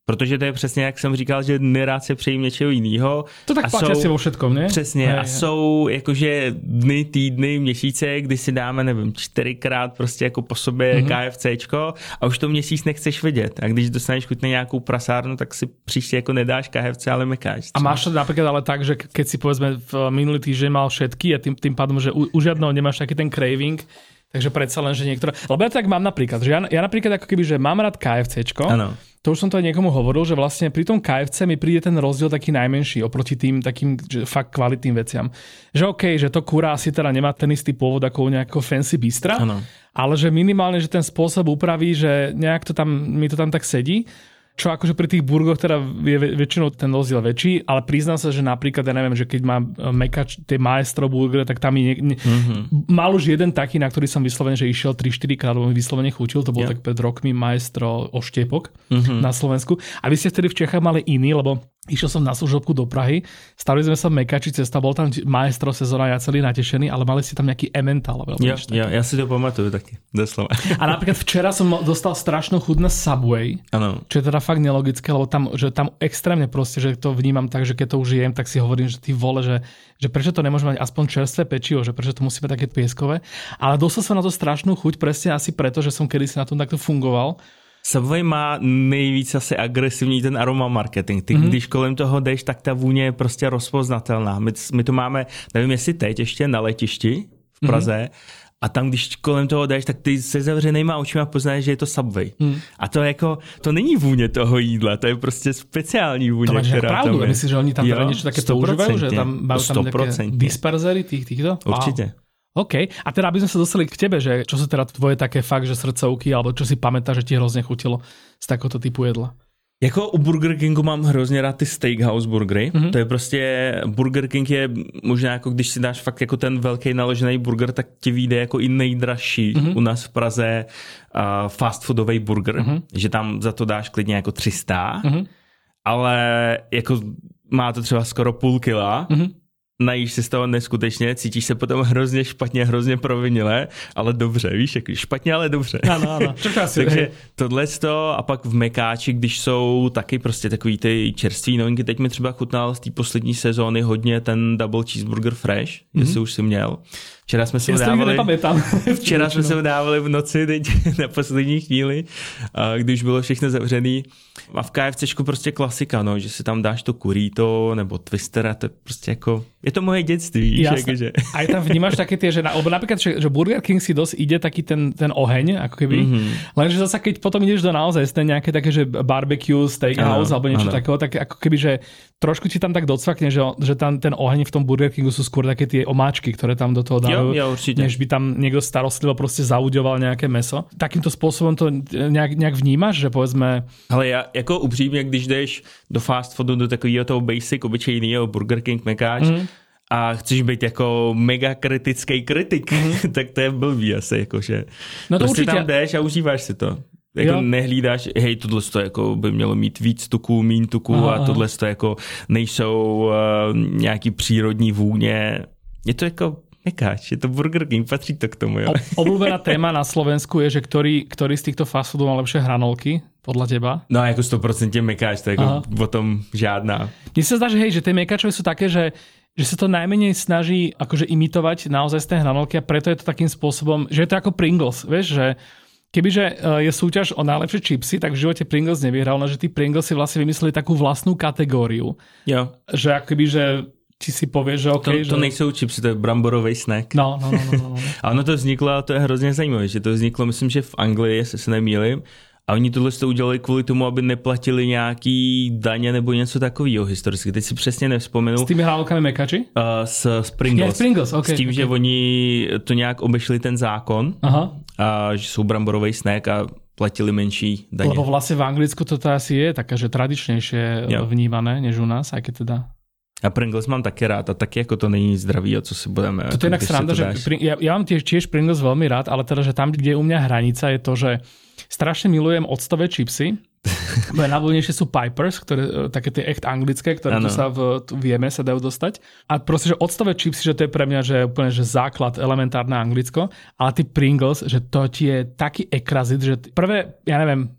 Protože to je přesně, jak jsem říkal, že nerád se přejím něčeho jiného. To tak platí asi vo všetkom, ne? Přesně. Hej, a hej. Jsou jakože dny, týdny, měsíce, kdy si dáme, nevím, čtyřikrát prostě jako po sobě mm-hmm. KFCčko a už to měsíc nechceš vidět. A když dostaneš chuť na nějakou prasárnu, tak si příště jako nedáš K F C, ale mekáč. A máš to napríklad ale tak, že keď si povedzme v minulý týždeň mal všetky a tým, tým pádom, že u, u žiadneho nemáš taký ten craving, takže predsa len, že niektoré... Lebo ja tak mám napríklad, že ja, ja napríklad ako keby, že mám rád KFCčko. Áno. To už som to aj niekomu hovoril, že vlastne pri tom K F C mi príde ten rozdiel taký najmenší oproti tým takým že fakt kvalitným veciam. Že okej, okay, že to kurá asi teda nemá ten istý pôvod ako u nejakého fancy bistra, ano. Ale že minimálne, že ten spôsob upraví, že nejak to tam, mi to tam tak sedí. Čo akože pri tých burgoch teda je väčšinou ten rozdiel väčší, ale priznám sa, že napríklad, ja neviem, že keď má mekač tie Maestro burgery, tak tam mi ne, ne, mm-hmm. mal už jeden taký, na ktorý som vyslovene, že išiel tri štyri krát, lebo mi vyslovene chutil, to bol yeah. tak pred rokmi Maestro oštiepok mm-hmm. na Slovensku. A vy ste vtedy v Čechách mali iný, lebo išiel som na služobku do Prahy, stavili sme sa v Mekači, cesta, bol tam Maestro sezóna, ja celý natešený, ale mali si tam nejaký Emmental. Ja, ja, ja si to pamatuju taky, doslova. A napríklad včera som dostal strašnú chuť na Subway, ano. Čo je teda fakt nelogické, lebo tam, že tam extrémne proste, že to vnímam tak, že keď to už jem, tak si hovorím, že ty vole, že, že prečo to nemôže mať aspoň čerstvé pečivo, že prečo to musí byť také pieskové. Ale dostal som na to strašnú chuť, presne asi preto, že som kedysi na tom takto fungoval. Subway má nejvíc asi agresivní ten aroma marketing. Ty, mm-hmm. když kolem toho jdeš, tak ta vůně je prostě rozpoznatelná. My, my to máme, nevím jestli teď ještě na letišti v Praze, mm-hmm. a tam, když kolem toho jdeš, tak ty se zavřenýma očima poznáš, že je to Subway. Mm. A to jako, to není vůně toho jídla, to je prostě speciální vůně, to máš která pravdu, tam je. Myslíš, že oni tam jo, niečo také používajú, že tam majú tam nejaké disperzery tých týchto? Určite. Wow. OK, a teda aby sme sa dostali k tebe, že čo sú teda tvoje také fakt, že srdcovky, alebo čo si pamätáš, že ti hrozne chutilo z takéhoto typu jedla? Jako u Burger Kingu mám hrozně rád ty steakhouse burgery. Mm-hmm. To je prostě, Burger King je možná jako když si dáš fakt jako ten velký naložený burger, tak ti vyjde jako i nejdražší mm-hmm. u nás v Praze uh, fast foodový burger, mm-hmm. že tam za to dáš klidně jako tři sta, mm-hmm. ale jako má to třeba skoro půl kila. Mm-hmm. Najíš si z toho neskutečně, cítíš se potom hrozně špatně, hrozně provinile, ale dobře, víš, jak špatně, ale dobře. Ano, ano. Takže tohle a pak v Mekáči, když jsou taky prostě takový ty čerství novinky, teď mi třeba chutnal z té poslední sezóny hodně ten Double Cheeseburger Fresh, mm-hmm. jestli už si měl. Včera jsme se ho dávali, včera jsme se ho dávali v noci, teď na poslední chvíli, když bylo všechno zavřený. A v KFCčku prostě klasika, no, že si tam dáš to kurito nebo twistera, to je prostě jako, je to moje dětství, víš, jakože. A tam vnímaš také tie, že, na, napríklad, že, že Burger King si dosť ide taký ten, ten oheň, ako keby, mm-hmm. lenže zasa keď potom ideš do naozaj ste nejaké také, že barbecue, steakhouse, ano, alebo niečo ano. Takého, tak ako keby, že trošku ti tam tak docvakne, že, že tam ten oheň v tom Burger Kingu sú skôr také tie omáčky, ktoré tam do toho dávajú, jo, jo, než by tam niekto starostlivo proste zauďoval nejaké meso. Takýmto spôsobom to nejak, nejak vnímaš, že povedzme... Ale ja jako upřímně, když jdeš do fast foodu, do takového toho basic, obyčejného Burger King, Mekáč, mm. a chceš být jako mega kritický kritik, mm. tak to je blbý asi, jakože. No to prostě určitě. Tam jdeš a užíváš si to. Jako nehlídáš, hej, tohle to jako by mělo mít víc tuků, míň tuků aha, a tohle to jako nejsou uh, nějaký přírodní vůně. Je to jako Mekáč, je to Burger King, patrí to k tomu, jo. Obľúbená téma na Slovensku je, že ktorý, ktorý z týchto fast foodov má lepšie hranolky, podľa teba? No jako sto procent Mekáč, to je jako o tom žádná. Mne sa zdá, že hej, že tie Mekáčové sú také, že že sa to najmenej snaží akože imitovať naozaj z tej hranolky a preto je to takým spôsobom, že je to ako Pringles, vieš, že kebyže je súťaž o najlepšie čipsy, tak v živote Pringles nevyhral, no že tí Pringles si vlastne vymysleli takú vlastnú kategóriu. Jo. Že akoby, že ti si povieš, že OK. To, to že... nejsou čipsy, to je bramborový snack. No, no, no, no, no. A ono to vzniklo, a to je hrozně zajímavé, že to vzniklo, myslím, že v Anglii, jestli se nemýlím, a oni tohle to udělali kvůli tomu, aby neplatili nějaký daně nebo něco takového historicky. Teď si přesně nevzpomenu. S těmi hranolkami Mekači? Uh, s, s Pringles. Yeah, Pringles okay, s tím, okay. že oni to nějak obešli ten zákon, aha. A že jsou bramborový snack a platili menší daně. Lebo vlastně v Anglicku to asi je také, že tradičnější vnímané, než u nás, aj keď teda... A Pringles mám taky rád a taky jako to není zdravý, o co si budeme... To je jinak sranda, že ja, ja mám tiež, tiež Pringles veľmi rád, ale teda, že tam, kde je u mňa hranica, je to, že strašne milujem octové čipsy. Najvoľnejšie sú Pipers, ktoré, také tie echt anglické, ktoré ano. Tu sa v, tu vieme, sa dajú dostať. A proste, že octové čipsy, že to je pre mňa že úplne že základ, elementárne Anglicko, ale ty Pringles, že to ti je taký ekrazit, že prvé, ja neviem,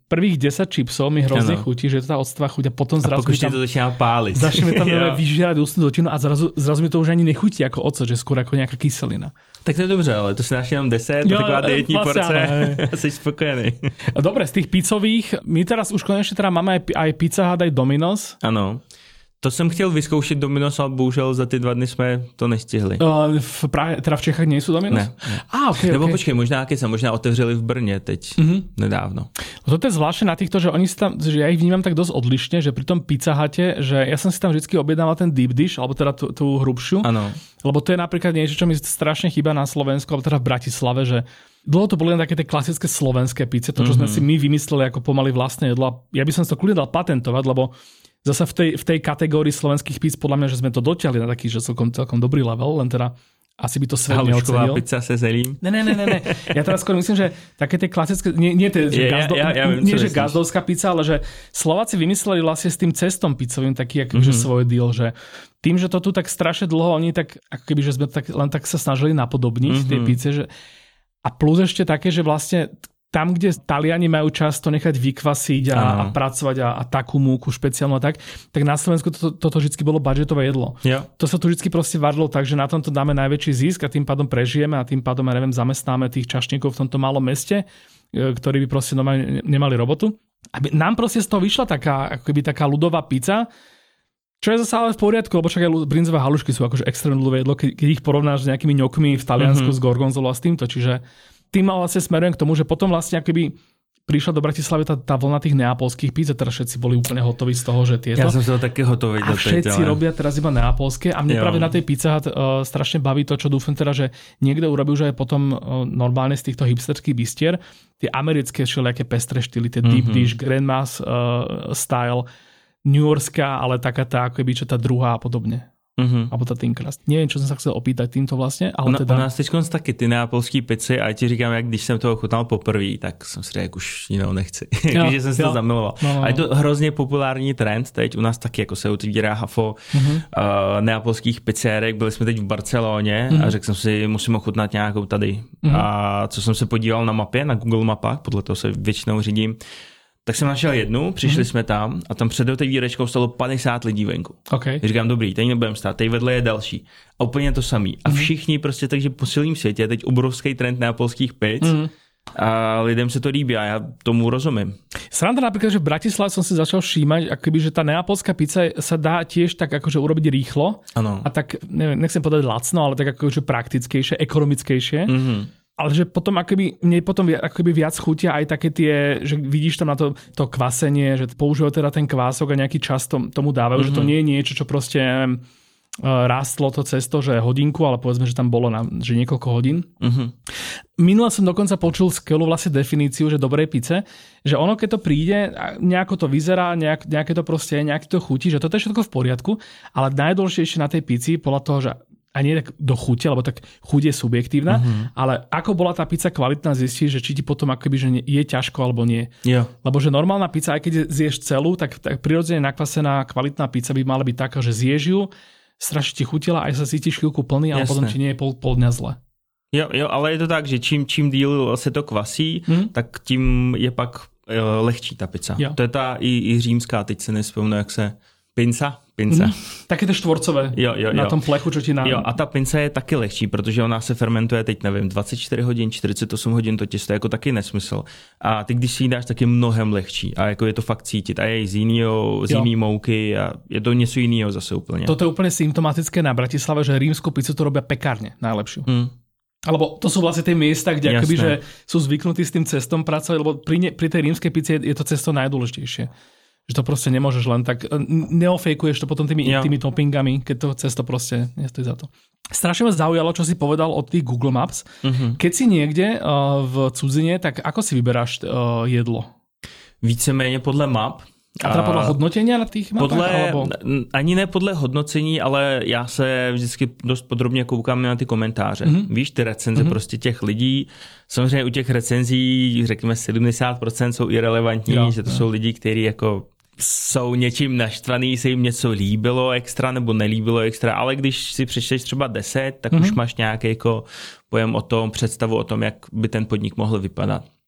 prvých desať čipsov mi hrozne ano. chutí, že je to tá octová chuť a potom zrazu a mi tam... to začíná páliť. Začne mi tam vyžierať ústnu dutinu a zrazu, zrazu mi to už ani nechutí ako ocet, že skôr ako nejaká kyselina. Tak to je dobře, ale to si dáš jenom deset, jo, taková dietní vlastně, porce a jsi spokojený. Dobre, z tých pizzových, my teraz už konečne teda máme aj, aj Pizza Hut, aj Domino's. Ano. To jsem chtěl vyzkoušet Domino's, ale bohužel za ty dva dny jsme to nestihli. Uh, v Prahe, teda v Čechách nejsou Domino's? Ne. ne. Ah, okay, Nebo okay. počkej, možná keď sa možná otevřeli v Brně teď, mm-hmm. nedávno. No to je zvláštne na týchto, že oni si tam, že ja ich vnímam tak dosť odlišne, že pri tom Pizza Hute, že ja som si tam vždycky objednával ten deep dish, alebo teda tú, tú hrubšiu. Áno. Lebo to je napríklad niečo, čo mi strašne chýba na Slovensku, alebo teda v Bratislave, že dlho to boli len také tie klasické slovenské pizze, to čo mm-hmm. sme si my vymysleli ako pomaly vlastné jedlo. Ja by som to kľudne dal patentovať, lebo zasa v tej, v tej kategórii slovenských pizz podľa mňa, že sme to dotiahli na taký, že celkom, celkom dobrý level, len teda asi by to svet neocenil. Halušková pizza se zelím. Ne, ne, ne, ne, ne. Ja teraz skôr myslím, že také tie klasické, nie, nie, tie, že, gazdo, ja, ja, ja viem, nie že gazdovská pizza, ale že Slováci vymysleli vlastne s tým cestom pizzovým taký akože mm-hmm. svoj deal, že tým, že to tu tak strašne dlho, oni tak, ako keby, že sme tak, len tak sa snažili napodobniť mm-hmm. tie pizze, že a plus ešte také, že vlastne tam, kde Taliani majú čas to nechať vykvasiť a, a pracovať a, a takú múku špeciálnu a tak, tak na Slovensku toto to, to vždy bolo budžetové jedlo. Ja. To sa tu vždy proste varilo tak, že na tomto dáme najväčší zisk a tým pádom prežijeme a tým pádom, ja neviem, zamestnáme tých čašníkov v tomto malom meste, ktorí by proste normálne nemali robotu. Aby nám proste z toho vyšla taká, ako keby taká ľudová pizza, čo je zase ale v poriadku, lebo však aj brinzové halušky sú akože extrémne ľudové jedlo, keď, keď ich porovnáš s nejakými ňokmi v Taliansku mm-hmm. s gorgonzolou a s týmto, čiže tým vlastne smerujem k tomu, že potom vlastne akoby prišla do Bratislavy tá, tá vlna tých neapolských píc a teraz všetci boli úplne hotoví z toho, že tieto. Ja som sa také hotový do tej. A všetci ale... robia teraz iba neapolské a mne jo. práve na tej Pizza Hut uh, strašne baví to, čo dúfam teda, že niekto urobí už aj potom uh, normálne z týchto hipsterských bistier tie americké všelijaké pestré štýly, tie mm-hmm. deep dish, grandmas uh, style, New Yorkská, ale taká tá, ako by čo tá druhá a podobne. Uh-huh. Alebo ta thin crust. Nevím, čo jsem se chcel opýtať týmto vlastně, ale Ona, teda... U nás teďkonc taky ty neapolský pici a já ti říkám, jak když jsem toho chutnal poprvé, tak jsem si řekl, už jinou nechci. Když jsem si to zamiloval. No, no, no. A je to hrozně populární trend, teď u nás taky jako se otvírá hafo uh-huh. uh, neapolských pizzerek, byli jsme teď v Barceloně uh-huh. a řekl jsem si, musím ochutnat nějakou tady. Uh-huh. A co jsem se podíval na mapě, na Google mapách, podle toho se většinou řídím, tak jsem našel jednu, přišli mm-hmm. jsme tam a tam před otevírečkou stalo padesát lidí venku. Okay. Říkám, dobrý, teď nebudem stát, teď vedle je další. A úplně to samý. A všichni prostě, takže po celém světě je teď obrovský trend neapolských pizz mm-hmm. a lidem se to líbí a já tomu rozumím. Sranda napríklad, že v Bratislave som si začal všímať, akoby, že tá neapolská pizza sa dá tiež tak akože urobiť rýchlo. Ano. A tak, neviem, nechcem povedať lacno, ale tak akože praktickejšie, ekonomickejšie. Mhm. Ale že potom akoby, mne potom akoby viac chutia aj také tie, že vidíš tam na to, to kvasenie, že používajú teda ten kvások a nejaký čas tom, tomu dávajú, mm-hmm. že to nie je niečo, čo proste neviem, rástlo to cesto, že hodinku, ale povedzme, že tam bolo na, že niekoľko hodín. Mm-hmm. Minule som dokonca počul skvelú vlastne definíciu, že dobrej pice, že ono keď to príde, nejako to vyzerá, nejak, nejaké to proste, nejak to chutí, že toto je všetko v poriadku, ale najdôležitejšie na tej pici podľa toho, že a nie tak do chute, lebo tak chuť je subjektívna, uh-huh. ale ako bola tá pizza kvalitná, zistíš, že či ti potom akoby, že je ťažko alebo nie. Jo. Lebo že normálna pizza, aj keď zješ celú, tak, tak prirodzene nakvasená kvalitná pizza by mala byť taká, že zješ ju, strašne ti chutila, aj sa cítiš chvíľku plný, ale Jasne. Potom ti nie je pol, pol dňa zle. Jo, jo, ale je to tak, že čím, čím díl se to kvasí, hmm? tak tím je pak jo, lehčí ta pizza. Jo. To je ta i, i římská, teď se nespomenu, jak se... Pinca? Pinca. Mm, také to štvorcové jo, jo, na jo. tom plechu, čo ti nám... Jo, a ta pinca je taky lehčí, protože ona se fermentuje teď, nevím, dvacet čtyři hodin, čtyřicet osm hodin, to těsto je jako taky nesmysl. A ty, když si ji dáš, tak je mnohem lehčí. A jako je to fakt cítit. A je z jinýho, z jiný mouky a je to něco jiného zase úplně. Toto je úplně symptomatické na Bratislave, že rímsku pizzu to robia pekárne najlepšiu. Mm. Alebo to sú vlastne tie miesta, kde akoby, že sú zvyknutí s tým cestom pracovať, lebo pri, ne, pri tej rímskej pizze je, je to cesto najdôležitejšie. Že to proste nemôžeš len tak, neofejkuješ to potom tými, ja. tými toppingami, keď to cesto proste nestojí za to. Strašne ma zaujalo, čo si povedal od tých Google Maps. Uh-huh. Keď si niekde uh, v cudzine, tak ako si vyberáš uh, jedlo? Víceméně podle map. A teda podle hodnotenia na těch mapách? Podle, alebo... Ani ne podle hodnocení, ale já se vždycky dost podrobně koukám na ty komentáře. Mm-hmm. Víš, ty recenze mm-hmm. prostě těch lidí. Samozřejmě u těch recenzí, řekněme sedmdesát procent jsou irelevantní, jo, že to jo. jsou lidi, kteří jako jsou něčím naštvaný, se jim něco líbilo extra nebo nelíbilo extra, ale když si přečteš třeba deset, tak mm-hmm. už máš nějaký jako pojem o tom, představu o tom, jak by ten podnik mohl vypadat.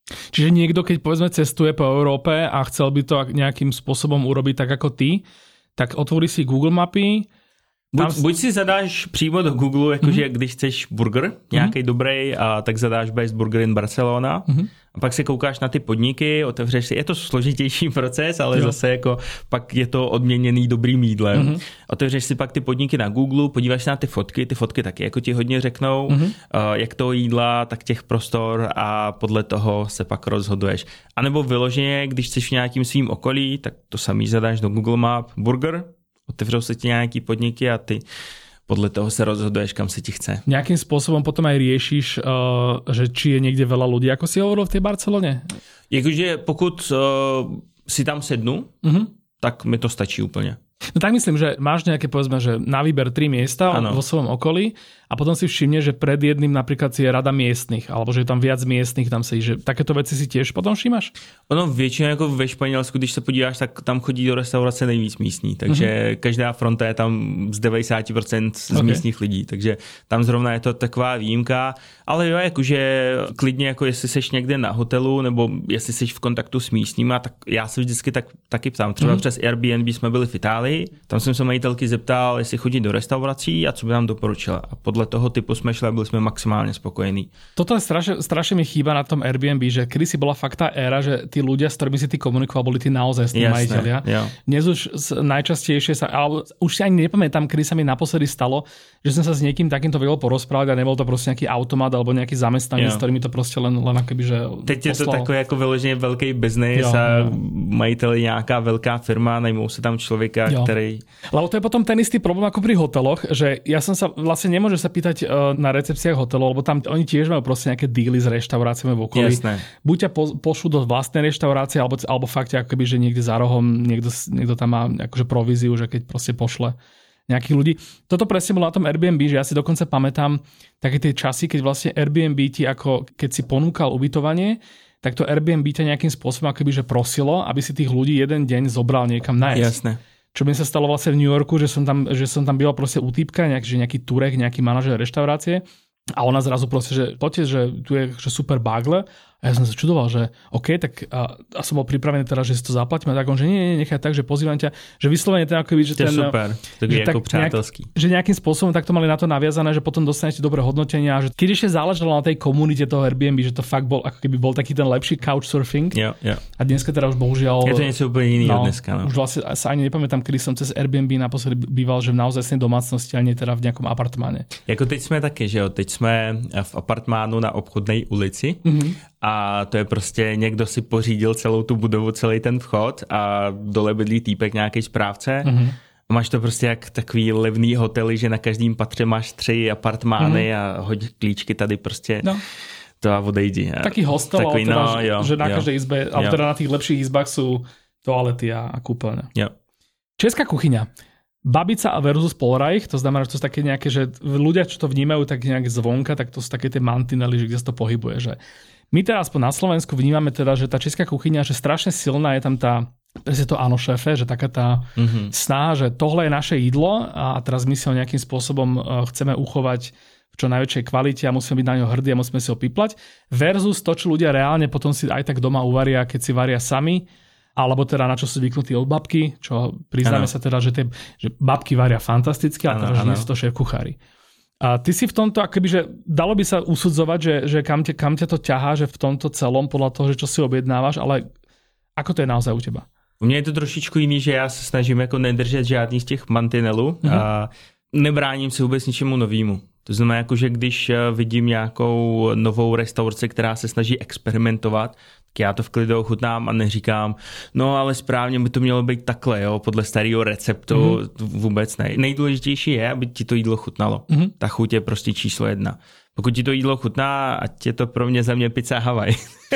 Čiže niekto, keď povedzme cestuje po Európe a chcel by to nejakým spôsobom urobiť tak ako ty, tak otvorí si Google mapy. Buď, buď si zadáš přímo do Google, jakože mm-hmm. když chceš burger nějaký mm-hmm. dobrý, a tak zadáš Best Burger in Barcelona mm-hmm. a pak se koukáš na ty podniky, otevřeš si, je to složitější proces, ale jo. zase jako pak je to odměněný dobrým jídlem. Mm-hmm. Otevřeš si pak ty podniky na Google, podíváš se na ty fotky, ty fotky taky jako ti hodně řeknou, mm-hmm. uh, jak toho jídla, tak těch prostor a podle toho se pak rozhoduješ. A nebo vyloženě, když chceš v nějakým svým okolí, tak to samý zadáš do Google Map burger, otevřou se ti nějaký podniky a ty podle toho se rozhoduješ, kam se ti chce. Nejakým spôsobom potom aj riešiš, uh, že či je niekde veľa ľudí, ako si hovoril v tej Barcelone? Jakože pokud uh, si tam sednu, uh-huh. tak mi to stačí úplně. No tak myslím, že máš nejaké, povedzme, že na výber tri miesta ano. vo svojom okolí a potom si všimne, že pred jedným napríklad si je rada miestnych, alebo že je tam viac miestnych, tam si, že takéto veci si tiež potom všímaš? Ono většinou jako ve Španělsku, když se podíváš, tak tam chodí do restaurace nejvíc místní, takže uh-huh. každá fronta je tam z devadesát procent z okay. místních lidí, takže tam zrovna je to taková výjimka, ale jo, jakože klidně, jako jestli seš někde na hotelu, nebo jestli seš v kontaktu s místníma, tak já se vždycky tak, taky ptám. Třeba uh-huh. přes Airbnb jsme byli v Itálii, tam jsem se majitelky zeptal, jestli chodí do restaurací a co by nám doporučila. A podle toho typu jsme šli a byli jsme maximálně spokojení. Toto je strašne, strašne mi chýba na tom Airbnb, že kedy si bola fakt tá éra, že tí ľudia, s ktorými si ty komunikoval, boli tí naozaj majitelia. Jo. Dnes už najčastejšie sa, alebo už si ani nepamätám, kedy sa mi naposledy stalo, že som sa s niekým takýmto vedel porozprávať a nebol to proste nejaký automat alebo nejaký zamestnanec, s ktorými to proste len, len akoby, že teď je to takový jako vyloženě velký biznis a majitel je nějaká velká firma, najmou se tam člověka, jo. který... Lebo to je potom ten istý problém ako pri hoteloch, že ja som sa vlastne nemôžem sa pýtať na recepciách hotelov, lebo tam oni tiež majú proste nejaké díly s reštauráciami v okolí. Jasné. Buď ťa po, pošlú do vlastnej reštaurácie, alebo, alebo fakt akoby, že niekde za rohom niekto, niekto tam má akože províziu, že keď proste pošle nejakých ľudí. Toto presne bolo na tom Airbnb, že ja si dokonca pamätám také tie časy, keď vlastne Airbnb ti ako, keď si ponúkal ubytovanie, tak to Airbnb ťa nejakým spôsobom akoby, že prosilo, aby si tých ľudí jeden deň zobral niekam nájsť. Jasné. Čo mi sa stalo vlastne v New Yorku, že som tam, že som tam býval proste u týpka, nejak, že nejaký turek, nejaký manažer reštaurácie a ona zrazu proste, že poďte, že tu je že super bagle. A ja som sa čudoval, že OK, tak a, a som bol pripravený teraz, že si to zaplatíme. Tak on, že nie, nie, nechaj tak, že pozývam ťa, že vyslovene ten akoby, že to ten... super, to je ako přátelský. Nejak, že nejakým spôsobom takto mali na to naviazané, že potom dostanete dobré hodnotenia. Že keď ešte záležalo na tej komunite toho Airbnb, že to fakt bol, ako keby bol taký ten lepší couchsurfing. Jo, jo. A dneska teda už bohužiaľ... Je to niečo úplne iného no, dneska. No. Už vlastne sa ani nepamätám, kedy som cez Airbnb naposledy býval, že v naozaj domácnosti, a nie teda v nejakom apartmáne. Jako teď sme také, že jo, teď sme v apartmánu na obchodnej ulici. Mm-hmm. A to je prostě někdo si pořídil celou tu budovu, celý ten vchod a dole bydlí týpek, nějaký správce. Mm-hmm. A máš to prostě jak takový levný hotely, že na každém patře máš tři apartmány mm-hmm. a hoď klíčky tady prostě no. to a odejdi. Taký hostel, Takový, teda, no, jo, že na jo, každej izbe, jo. ale teda na tých lepších izbách sú toalety a, a kúpeľne. Jo. Česká kuchyňa. Babica versus Polreich, to znamená, že to sú také nejaké, že ľudia, čo to vnímajú tak nejak zvonka, tak to sú také tie mantinely, že kde sa to pohybuje, že my teraz aspoň na Slovensku vnímame teda, že tá česká kuchyňa, že strašne silná je tam tá, presne to áno šéfe, že taká tá mm-hmm. snaha, že tohle je naše jídlo a teraz my si ho nejakým spôsobom chceme uchovať v čo najväčšej kvalite a musíme byť na ňo hrdí a musíme si ho piplať versus to, čo ľudia reálne potom si aj tak doma uvaria, keď si varia sami, alebo teda na čo sú zvyknutí od babky, čo priznáme ano. sa teda, že, tie, že babky varia fantasticky, ale teda, že nie sú to šéf kuchári. A ty si v tomto, akoby, že dalo by sa usudzovať, že, že kam, te, kam ťa to ťahá, že v tomto celom podľa toho, že čo si objednávaš, ale ako to je naozaj u teba? U mě je to trošičku jiný, že já se snažím jako nedržet žádný z těch mantinelů mm-hmm. a nebráním se vůbec ničemu novému. To znamená, jako, že když vidím nějakou novou restauraci, která se snaží experimentovat, tak já to v klidu ochutnám a neříkám, no ale správně by to mělo být takhle, jo, podle starého receptu, mm-hmm. vůbec ne. Nejdůležitější je, aby ti to jídlo chutnalo. Mm-hmm. Ta chuť je prostě číslo jedna. Pokud ti to jídlo chutná, ať je to pro mě za mě pizza Havaj.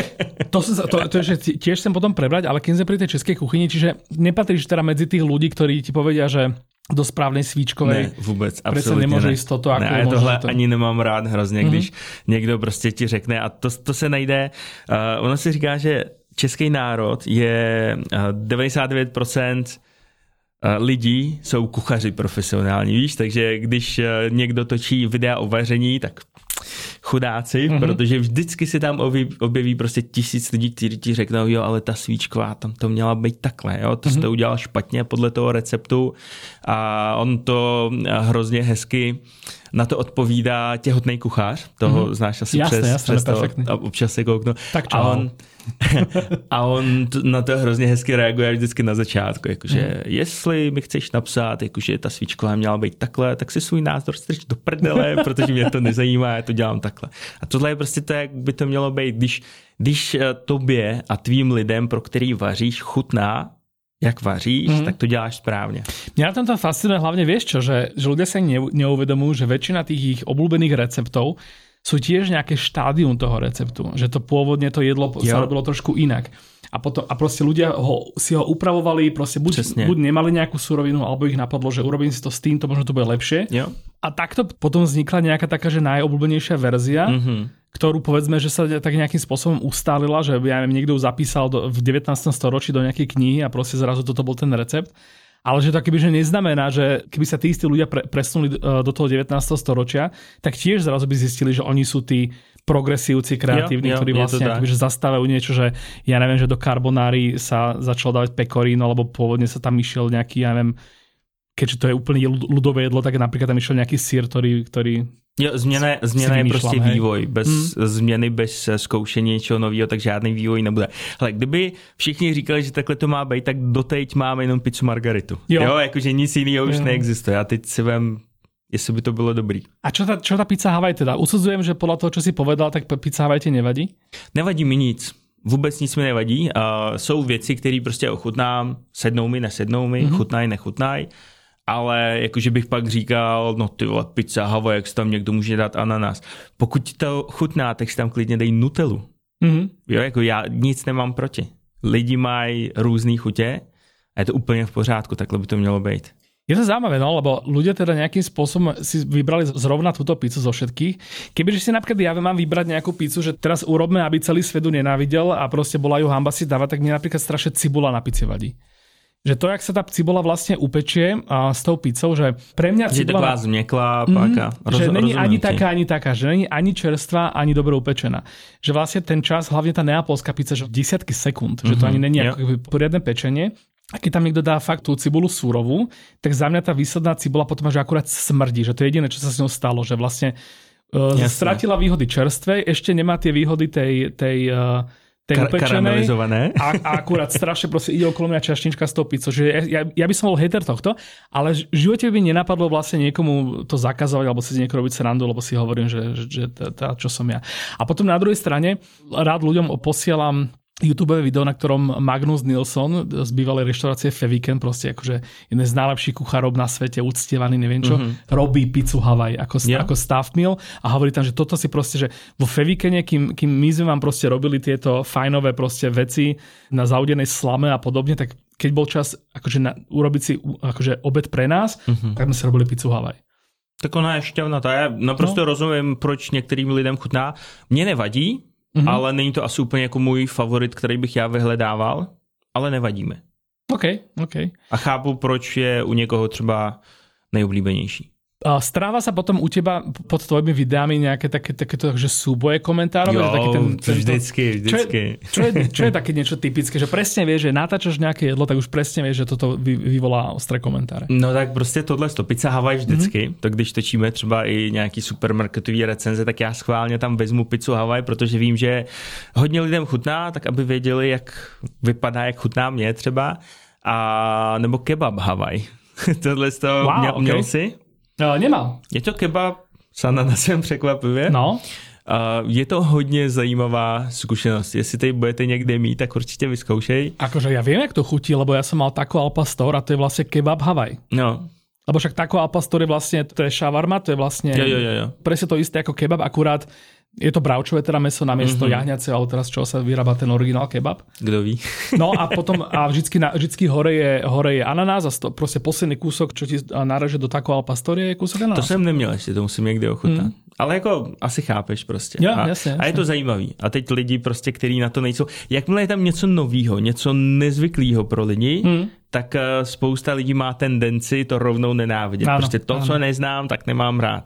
To, to, to je, tiež chcem potom prebrať, ale keď sme pri tej českej kuchyni, čiže nepatríš teda medzi tých ľudí, ktorí ti povedia, že do správnej svíčkovej. Ne, vůbec, absolutně nemůže ne. Jíst toto. Ako ne, já tohle to... ani nemám rád hrozně, když mm-hmm. někdo prostě ti řekne a to, to se najde. Uh, ono se říká, že český národ je uh, devadesát devět procent lidí jsou kuchaři profesionální, víš, takže když někdo točí videa o vaření, tak chudáci, mm-hmm. protože vždycky se tam objeví, objeví prostě tisíc lidí, kteří ti řeknou, jo, ale ta svíčková, tam to měla být takhle, jo, to mm-hmm. jste udělal špatně podle toho receptu a on to hrozně hezky na to odpovídá těhotný kuchař, toho mm-hmm. znáš asi jasne, přes, jasne, přes to, a občas se kouknu. Tak čo? A on, a on na to hrozně hezky reaguje vždycky na začátku, jakože mm. jestli mi chceš napsat, jakože ta svíčková měla být takhle, tak si svůj názor strč do prdele, protože mě to nezajímá, já to dělám takhle. A tohle je prostě to, jak by to mělo být, když, když tobě a tvým lidem, pro který vaříš, chutná, jak vaříš, mm. tak to děláš správne. Mňa na tomto fascinuje hlavne, vieš čo, že, že ľudia sa neuvedomujú, že väčšina tých ich obľúbených receptov sú tiež nejaké štádium toho receptu. Že to pôvodne to jedlo jo. sa robilo trošku inak. A, potom, a proste ľudia ho, si ho upravovali, proste buď, buď nemali nejakú surovinu, alebo ich napadlo, že urobím si to s týmto, možno to bude lepšie. Jo. A takto potom vznikla nejaká taká, že najobľúbenejšia verzia, mm-hmm. ktorú povedzme, že sa tak nejakým spôsobom ustálila, že ja neviem, niekto ju zapísal do, v devätnástom storočí do nejakej knihy a proste zrazu toto bol ten recept. Ale že to keby, že neznamená, že keby sa tí istí ľudia pre, presunuli do toho devätnásteho storočia, tak tiež zrazu by zistili, že oni sú tí progresívci, kreatívni, jo, jo, ktorí vlastne akoby, že zastávajú niečo, že ja neviem, že do carbonary sa začalo dávať pecorino, alebo pôvodne sa tam išiel nejaký, ja neviem, keďže to je úplne ľudové jedlo, tak napríklad tam išiel nejaký sír, ktorý... ktorý jo, změna, změna je prostě hej. vývoj. Bez hmm. změny, bez zkoušení něčeho nového, tak žádný vývoj nebude. Hele, kdyby všichni říkali, že takhle to má být, tak doteď máme jenom pizzu margaritu. Jo, jo jakože nic jiného už jo. neexistuje. A teď si vem, jestli by to bylo dobrý. A čo ta, čo ta pizza Havaj teda? Usudzujem, že podľa toho, čo si povedal, tak pizza Havaj ti nevadí? Nevadí mi nic. Vůbec nic mi nevadí. Uh, jsou věci, které prostě ochutnám, sednou mi, nesednou mi, mm-hmm. chutnají, nechutnají. Ale jakože bych pak říkal, no ty vole, pizza Havaj, jak si tam někdo může dát ananas. Pokud ti to chutná, tak si tam klidně dej Nutellu. Mm-hmm. Jo, jako já nic nemám proti. Lidi mají různý chutě a je to úplně v pořádku, takhle by to mělo být. Je to zaujímavé, no, lebo ľudia teda nejakým spôsobom si vybrali zrovna túto pizzu zo všetkých. Kebyže si napríklad ja mám vybrať nejakú pizzu, že teraz urobme, aby celý svet ju nenávidel a proste bola ju hanba si dávať, tak mne napríklad strašne cibula na pici vadí. Že to, jak sa tá cibola vlastne upečie a s tou pizzou, že pre mňa cibola... Je taková zmieklá páka. Mm, Roz, že není ani ti. taká, ani taká, že není ani čerstvá, ani dobre upečená. Že vlastne ten čas, hlavne tá neapolská pizza, že desiatky sekúnd, mm-hmm, že to ani není ako poriadne pečenie. A keď tam niekto dá fakt tú cibulu súrovú, tak za mňa tá výsledná cibola potom až akurát smrdí, že to je jediné, čo sa s ňou stalo, že vlastne uh, stratila výhody čerstvej, ešte nemá tie výhody tej, tej, uh, tej Kar- upečenej a, a akurát strašne proste ide okolo mňa čašnička s tou pizzou. Že ja, ja by som bol hater tohto, ale v živote by nenapadlo vlastne niekomu to zakazovať alebo si z niekoho robiť srandu, lebo si hovorím, že, že, že tá, čo som ja. A potom na druhej strane rád ľuďom posielam YouTubeové video, na ktorom Magnus Nilsson z bývalej reštaurácie Feviken, proste akože jeden z najlepších kuchárov na svete, uctievaný, neviem čo, mm-hmm. robí pizzu Havaj ako, yeah. ako staff meal a hovorí tam, že toto si proste, že vo Fevikene, kým, kým my sme vám proste robili tieto fajnové proste veci na zaudenej slame a podobne, tak keď bol čas akože na, urobiť si akože obed pre nás, mm-hmm. tak sme si robili pizzu Havaj. Tak ona je šťavnatá. Já naprosto no. rozumím, proč některým lidem chutná. Mně nevadí, Mm-hmm. ale není to asi úplně jako můj favorit, který bych já vyhledával, ale nevadí mi. OK, OK. A chápu, proč je u někoho třeba nejoblíbenější. Stráva sa potom u teba pod tvojimi videami nejaké také, takéto že súboje komentárov? Jo, že taký ten, to vždycky, vždycky. Čo je, čo, je, čo je také niečo typické? Že presne vieš, že natáčaš nejaké jedlo, tak už presne vieš, že toto vy, vyvolá ostré komentáře. No tak prostě tohle to pizza Havaj vždycky. Mm-hmm. To když točíme třeba i nějaký supermarketový recenze, tak já schválně tam vezmu pizzu Havaj, protože vím, že hodně lidem chutná, tak aby věděli, jak vypadá, jak chutná mě třeba. A nebo kebab Havaj. Tohle to wow, měl, okay. měl jsi? No, nemal. Je to kebab s ananasem překvapivě. No. Uh, je to hodně zajímavá zkušenost. Jestli tady budete někde mít, tak určitě vyzkoušej. Akože ja viem, jak to chutí, lebo ja som mal taco al pastor a to je vlastne kebab Havaj. No. Lebo však taco al pastor je vlastne, to je šavarma, to je vlastne jo, jo, jo, jo. presne to isté ako kebab, akurát je to bravčové teda meso na miesto mm-hmm. jahňace, ale teraz čo sa vyrába ten originál kebab. Kdo ví. No a potom a vždycky, na, vždycky hore, je, hore je ananás a sto, proste posledný kúsok, čo ti nareže do taco al pastorie, je kúsok ananás. To jsem neměl ještě, to musím někdy ochutnat. Mm. Ale jako asi chápeš prostě. Jo, a, jasně, jasně. a je to zajímavý. A teď lidi prostě, kteří na to nejsou. Jakmile je tam něco novýho, něco nezvyklého pro lidi, mm. tak spousta lidí má tendenci to rovnou nenávidět. Ano, prostě to, ano. co neznám, tak nemám rád.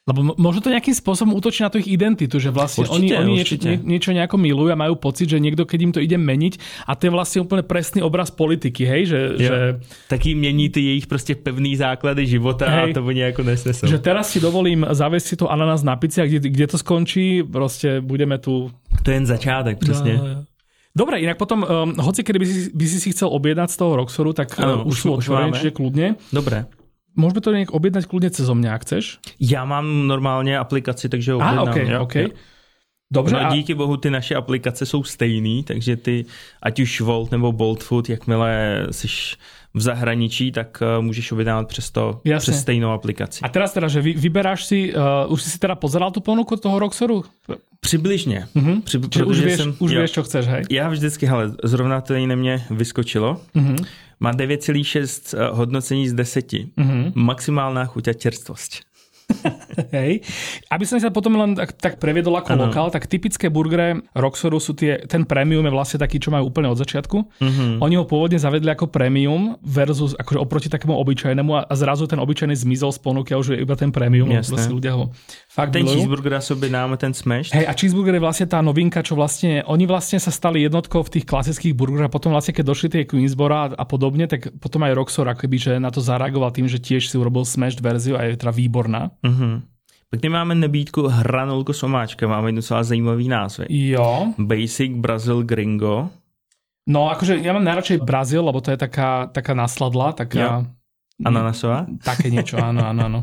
Lebo možno to nejakým spôsobom útočí na tú ich identitu, že vlastne určite, oni, oni niečo, nie, niečo nejako milujú a majú pocit, že niekto, keď im to ide meniť, a to je vlastne úplne presný obraz politiky, hej? Že, že... Taký mení ty jejich prostě pevný základy života, hej, a to oni ako nesnesú. Že teraz si dovolím zaviesť si to ananas na pici a kde, kde to skončí, proste budeme tu... To je jen začátek, presne. No, no. Dobre, inak potom, um, hoci kedy by si, by si si chcel objednať z toho Roxoru, tak ano, uh, už sú otvorené, čiže kľudne. Dobre. Môžeme to nejak objednať kľudne cez mňa, ak chceš? Já mám normálně aplikaci, takže ho objednám. Ah, okay, jo, okay. Jo. Dobře. No, díky bohu ty naše aplikace jsou stejný, takže ty, ať už Volt nebo Bolt Food, jakmile jsi v zahraničí, tak uh, můžeš objednávat přes to, Jasne. přes stejnou aplikaci. A teraz teda, že vy, vyberáš si, uh, už si si teda pozeral tu ponuku toho Roxoru? Přibližně. Uh-huh. Při, Čiže už, vieš, jsem, už vieš, čo chceš, hej? Já vždycky, hele, zrovna to na mě vyskočilo. Uh-huh. Má devět celá šest hodnocení z deseti. Uh-huh. Maximálna chuť a čerstvosť. Hej. Aby som sa potom len tak, tak previedol ako ano. lokál, tak typické burgery Roxoru sú tie, ten premium je vlastne taký, čo majú úplne od začiatku. Uh-huh. Oni ho pôvodne zavedli ako premium versus akože oproti takému obyčajnému a, a zrazu ten obyčajný zmizol z ponuky a už je iba ten premium. Vlastne ľudia ho fakt ten milujú. Cheeseburger sobie dáme ten smash. Hej, a cheeseburger je vlastne tá novinka, čo vlastne, oni vlastne sa stali jednotkou v tých klasických burgeroch a potom vlastne, keď došli tie Queensboro a podobne, tak potom aj Roxor akoby, že na to zareagoval tým, že tiež si urobil smashed verziu a je teda výborná. Uh-huh. Pak máme nabídku hranolku s omáčkem, máme docela zajímavý názvy. Jo. Basic Brazil Gringo. No akože ja mám najradšej Brazil, lebo to je taká, taká nasladla, taká... Ananasová? Také niečo, áno, áno, áno.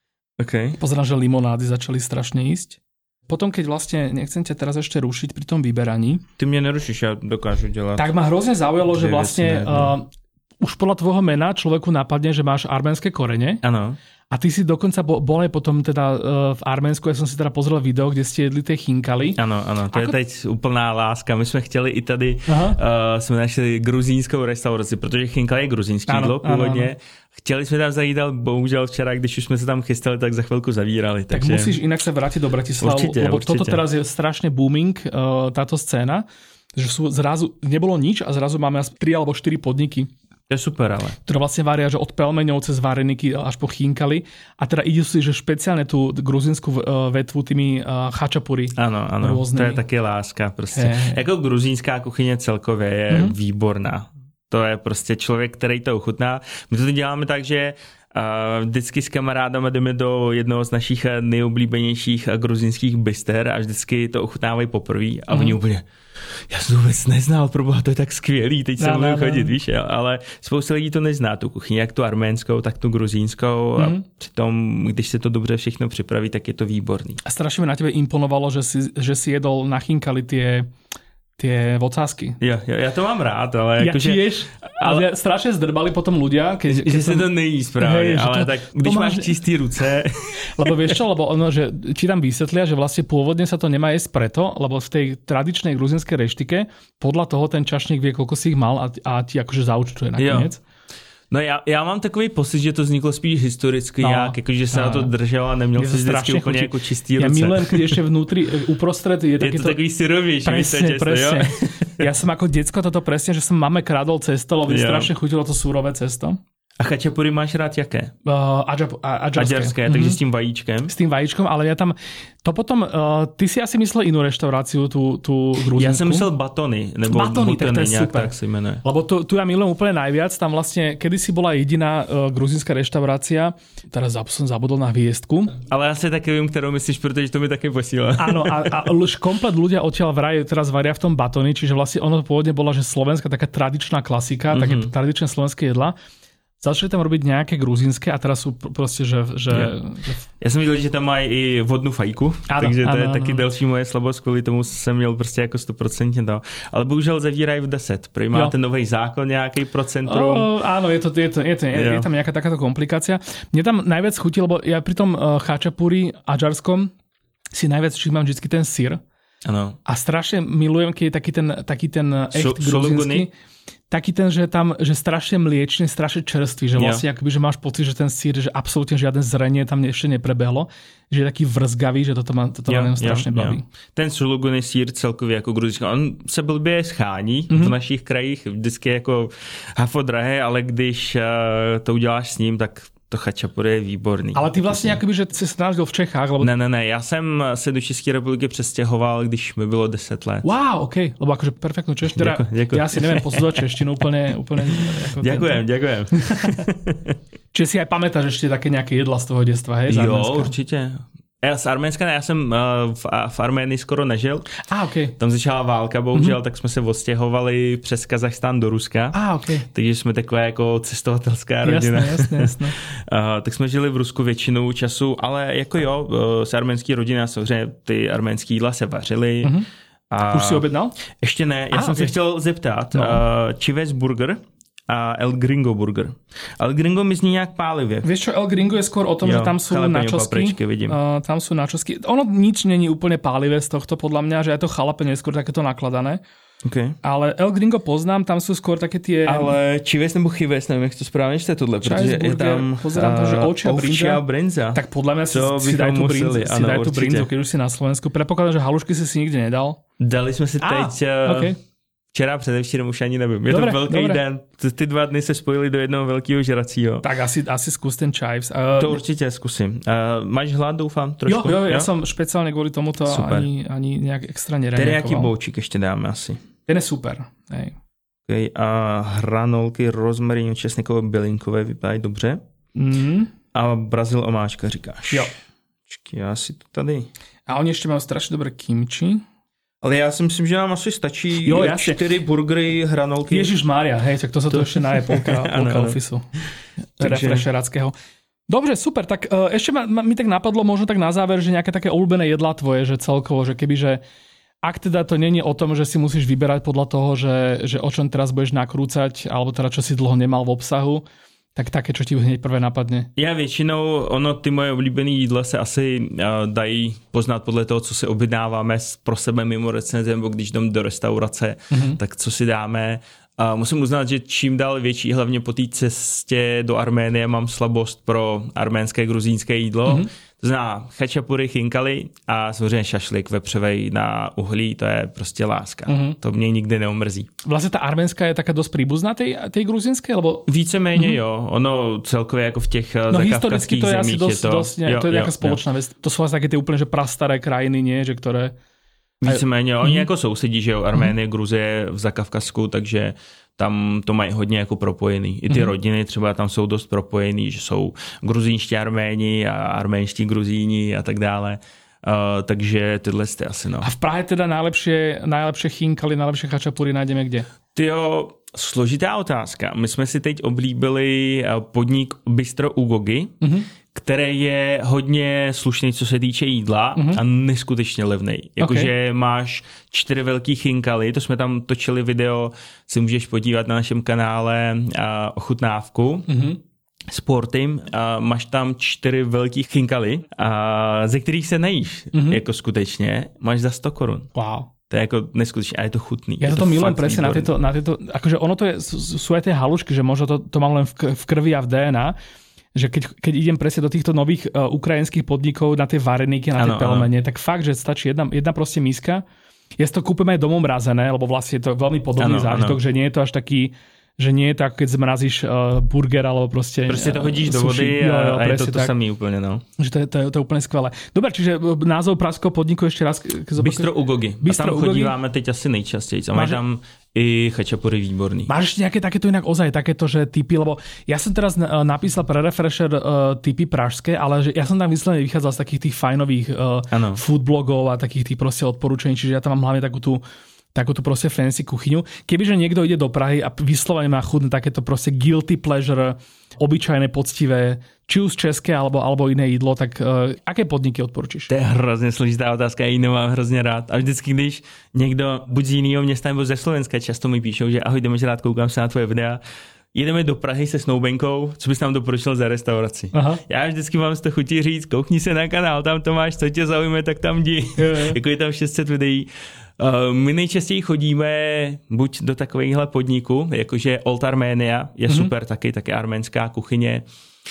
Okay. Pozerám, že limonády začali strašne ísť. Potom, keď vlastne, nechcem ťa teraz ešte rušiť pri tom vyberaní. Ty mňa nerušíš, ja dokážu delať. Tak ma hrozne zaujalo, že vlastne uh, už podľa tvojho mena človeku napadne, že máš arménske korene. Áno. A ty si dokonca bol aj potom teda uh, v Arménsku, ja som si teda pozrel video, kde ste jedli tie chinkali. Ano, ano, to Ako... je teď úplná láska. My jsme chtěli i tady, uh, jsme našli gruzínskou restauraci, protože chinkali je gruzínský jídlo původně. Chtěli jsme tam zajít, ale bohužel včera, když už jsme se tam chystali, tak za chvilku zavírali. Tak takže... musíš inak sa vrátiť do Bratislavu, určite, lebo určite. Toto teraz je strašne booming, uh, táto scéna, že sú zrazu, nebolo nič a zrazu máme asi tri alebo štyri podniky. To je super, ale. Ktoré vlastne varia, že od pelmeňov cez vareniky až po chinkali. A teda ide si, že špeciálne tú gruzínsku vetvu tými uh, chačapuri. Ano, ano, rôznymi. To je také láska. Prostě. Hey. Jako gruzínská kuchyně celkově je mm-hmm. výborná. To je prostě člověk, který to ochutná. My to děláme tak, že Uh, vždycky s kamarádama jdeme do jednoho z našich nejoblíbenějších gruzínských byster a vždycky to ochutnávají poprvé a mm. oni úplně, já jsem to vůbec neznal, proboha, to je tak skvělý, teď se můžu chodit, víš, ale spousta lidí to nezná, tu kuchyni, jak tu arménskou, tak tu gruzínskou mm. a přitom, když se to dobře všechno připraví, tak je to výborný. A strašně mi na tebe imponovalo, že si, že si jedol na chinkali tie tie vocázky. Jo, jo, ja to mám rád, ale ja akože... tiež, ale ja strašne zdrbali potom ľudia, keď... Že si to nejí správne, ale to, tak když máš čistý ruce... Lebo vieš čo, lebo ono, že ti tam vysvetlia, že vlastne pôvodne sa to nemá jesť preto, lebo v tej tradičnej gruzinskej reštike podľa toho ten čašník vie, koľko si ich mal a, a ti akože zaúčtuje nakoniec. Jo. No já, já mám takový pocit, že to vzniklo spíš historicky no, nějak, jakože se no, na to držel a neměl se vždycky úplně jako čistý ruce. Ja milujem, keď ešte vnútri, uprostred je, je to takový syrovější. Presne, presne. Ja som ako decko toto presne, že som mame kradol cesto, lebo mi strašne chutilo to surové cesto. A chačapuri máš rád jaké? Uh, adžab, adžarské. Adžarské, mm-hmm. takže s tím vajíčkem. S tým vajíčkom, ale ja tam... To potom... Uh, ty si asi myslel inú reštauráciu, tú, tú gruzínsku. Ja som myslel batony, nebo batony, tak to je nejak super. Tak sa jmenuje. Lebo to, tu ja milujem úplne najviac. Tam vlastne, kedysi bola jediná uh, gruzínska reštaurácia, teraz som zabudol na hviezdku. Ale asi také viem, ktorou myslíš, pretože to mi také posíla. Áno, a, a už komplet ľudia odtiaľ vraj teraz varia v tom batony, čiže vlastne ono pôvodne bola, že slovenská taká tradičná klasika, mm-hmm. také tradičné slovenské jedla. Začali tam robiť nejaké gruzínske a teraz sú proste, že... že, ja. že... ja som videl, že tam mají i vodnú fajku, ano, takže to ano, je ano. Taky další moje slabost, kvůli tomu jsem měl prostě jako sto procent to. Ale bohužel zavírají v deset. Prý máte nový zákon nějaký pro centrum. O, áno, je, to, je, to, je, to, je, je tam nejaká takáto komplikácia. Mne tam najviac chutí, lebo ja pri tom uh, chačapuri adžarskom si najviac všímam vždycky ten syr. Ano. A strašne milujem, keď je taký ten, taký ten echt gruzínsky. Taký ten, že tam, že strašne mliečný, strašne čerstvý, že vlastne akoby, že máš pocit, že ten sír, že absolútne žiadne zrenie tam ešte neprebehlo, že je taký vrzgavý, že toto ma, toto ma strašne baví. Ten suluguný sír celkově jako gruzínský, on se blbě schání mm-hmm. v našich krajích, vždycky jako hafo drahé, ale když uh, to uděláš s ním, tak To chačapuri je výborný. Ale ty vlastně jakoby, že jsi se narodil v Čechách? Lebo... Ne, ne, ne, já jsem se do České republiky přestěhoval, když mi bylo deset let. Wow, ok, lebo akože perfektnú češtinu. Teda, ja si neviem posudovať češtinu úplne. úplne ako ďakujem, tento. ďakujem. Čiže si aj pamätáš ešte také nejaké jedla z toho detstva, hej? Jo, určitě. Já z Arménska ne, já jsem uh, v, v Arménii skoro nežil. Ah, okay. Tam začala válka, bohužel, mm-hmm. tak jsme se odstěhovali přes Kazachstán do Ruska. Ah, okay. Takže jsme takové jako cestovatelská rodina. Jasné, jasné, jasné. uh, tak jsme žili v Rusku většinou času, ale jako jo, uh, z arménský rodina, samozřejmě ty arménský jídla se vařily. Mm-hmm. A... Už si objednal? Ještě ne, já ah, jsem okay. se chtěl zeptat. No. Uh, Chivas Burger a El Gringo Burger. El Gringo mi zní nějak pálivě. Vieš čo, El Gringo je skôr o tom, jo, že tam sú načosky. Uh, tam sú načosky. Ono nič není úplne pálivé z tohto, podľa mňa, že je to chalapeň, je skôr takéto nakladané. Okay. Ale El Gringo poznám, tam sú skôr také tie... Ale Chivas nebo Chivas, nevím, jak to správně čte tohle, protože je tam pozerám to, že ovčia brinza. brinza. Tak podľa mňa si, si daj tú brinzu, si daj tú brinzu, keď už si na Slovensku. Predpokladám, že halušky si si nikdy nedal. Dali jsme si teď... Ah, okay. Včera, předevčírem už ani nevím. Je dobre, to velký dobre. Den. Ty dva dny se spojili do jednoho velkého žracího. Tak asi, asi zkus ten chives. Uh, to určitě zkusím. Uh, máš hlad, doufám, trošku? Jo, jo, jo? Ja som špeciálne kvôli tomuto ani, ani nejak extra nereagoval. Teriyaki boučík ještě dáme asi. Ten je super. Hej. Okay, a hranolky rozmarínu česnikové bylinkové vypadají dobře. Mm. A Brazil omáčka říkáš. Jo. Počkej, já si to tady... A oni ještě mají strašně dobré kimchi. Ale já si myslím, že nám asi stačí jo, čtyři burgery, hranolky. Ježišmária, hej, tak to sa to ešte naje polka, polka ofisu. Refresherackého. Dobre, super, tak uh, ešte ma, ma, mi tak napadlo možno tak na záver, že nejaké také obľúbené jedlá tvoje, že celkovo, že keby, že ak teda to není o tom, že si musíš vyberať podľa toho, že, že o čom teraz budeš nakrúcať, alebo teda čo si dlho nemal v obsahu, tak také, čo ti hneď prvé napadne? Já většinou, ono, ty moje oblíbené jídla se asi uh, dají poznat podle toho, co si objednáváme pro sebe mimo recenze, nebo když jdem do restaurace, mm-hmm. tak co si dáme. Uh, musím uznat, že čím dál větší, hlavně po té cestě do Arménie, mám slabost pro arménské, gruzínské jídlo. Mm-hmm. To znamená chačapuri, chinkali a samozřejmě šašlik vepřovej na uhlí, to je prostě láska. Mm-hmm. To mě nikdy neumrzí. Vlastně ta arménská je taká dost príbuzná tej, tej gruzínské? Lebo... Víceméně mm-hmm. jo, ono celkově jako v těch no, zakavkazských zemích je, dost, je to... Dost, ne, jo, to je nějaká společná věc. To jsou vlastně také ty úplně že prastaré krajiny, nie? Že které... Víceméně, oni mm-hmm. jako sousedí, že jo, Arménie, mm-hmm. Gruzie v Zakavkazsku, takže tam to mají hodně jako propojený. I ty mm-hmm. rodiny třeba tam jsou dost propojený, že jsou gruzínští Arméni a arménští Gruzíni a tak dále. Uh, takže tyhle jste asi no. A v Prahe teda najlepšie, najlepšie chinkali, najlepšie chačapury najdeme kde? Tyjo, složitá otázka. My jsme si teď oblíbili podnik Bistro u Gogy, mm-hmm. který je hodně slušný, co se týče jídla mm-hmm. a neskutečně levnej. Jakože okay. máš čtyři velký chinkaly, to jsme tam točili video, si můžeš podívat na našem kanále a ochutnávku. Mm-hmm. Sportym a máš tam čtyři velký chinkaly, a ze kterých se nejíš, mm-hmm. jako skutečně, máš za sto korun. Wow. To je jako neskutečné a je to chutný. Ja to, to milujem presne na tieto, na tieto, akože ono to je, sú aj tie halušky, že možno to, to mám len v, v krvi a v dé en á, že keď, keď idem presne do týchto nových uh, ukrajinských podnikov na tie vareníky, na tie pelmene, tak fakt, že stačí jedna, jedna proste miska. Ja si to kúpim aj domov mrazené, lebo vlastne je to veľmi podobný ano, zážitok, ano. Že nie je to až taký, že nie je to ako keď zmrazíš uh, burger alebo proste... Proste to hodíš do vody a, jo, jo, a je to to samý úplne, no. Že to je, to, je, to je úplne skvelé. Dobre, čiže názov pražského podniku ešte raz... Bistro u Gogy. Bistro a tam chodíváme teď asi nejčastěji. A máš tam i chačapury výborný. Máš ešte nejaké takéto inak ozaj, takéto, že typy, lebo ja som teraz napísal pre Refresher uh, typy pražské, ale že ja som tam vyslovene vychádzal z takých tých fajnových uh, food blogov a takých tých proste odporúčení, čiže ja tam mám hlavne takú tú takúto proste fancy kuchyňu. Kebyže niekto ide do Prahy a vyslovene má chudné takéto proste guilty pleasure, obyčajné, poctivé, či už české alebo, alebo iné jídlo, tak uh, aké podniky odporučíš? To je hrozně složitá otázka, já ji nemám hrozně rád. A vždycky, když někdo buď z jiného města nebo ze Slovenska často mi píšou, že ahoj, jdeme rád, koukám se na tvoje videa, jedeme do Prahy se snoubenkou, co bys nám doporučil za restauraci. Aha. Já vždycky mám z toho chutí říct, koukni se na kanál, tam to máš, co tě zaujme, tak tam jdi. Jako je tam šest set videí. Uh, my nejčastěji chodíme buď do takovýchhle podniků, jakože Old Armenia je mm-hmm. super taky, taky arménská kuchyně,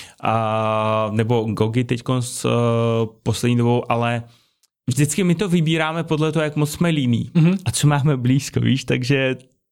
a, nebo Gogy teďko s uh, poslední dobou, ale vždycky my to vybíráme podle toho, jak moc jsme líní mm-hmm. a co máme blízko, víš, takže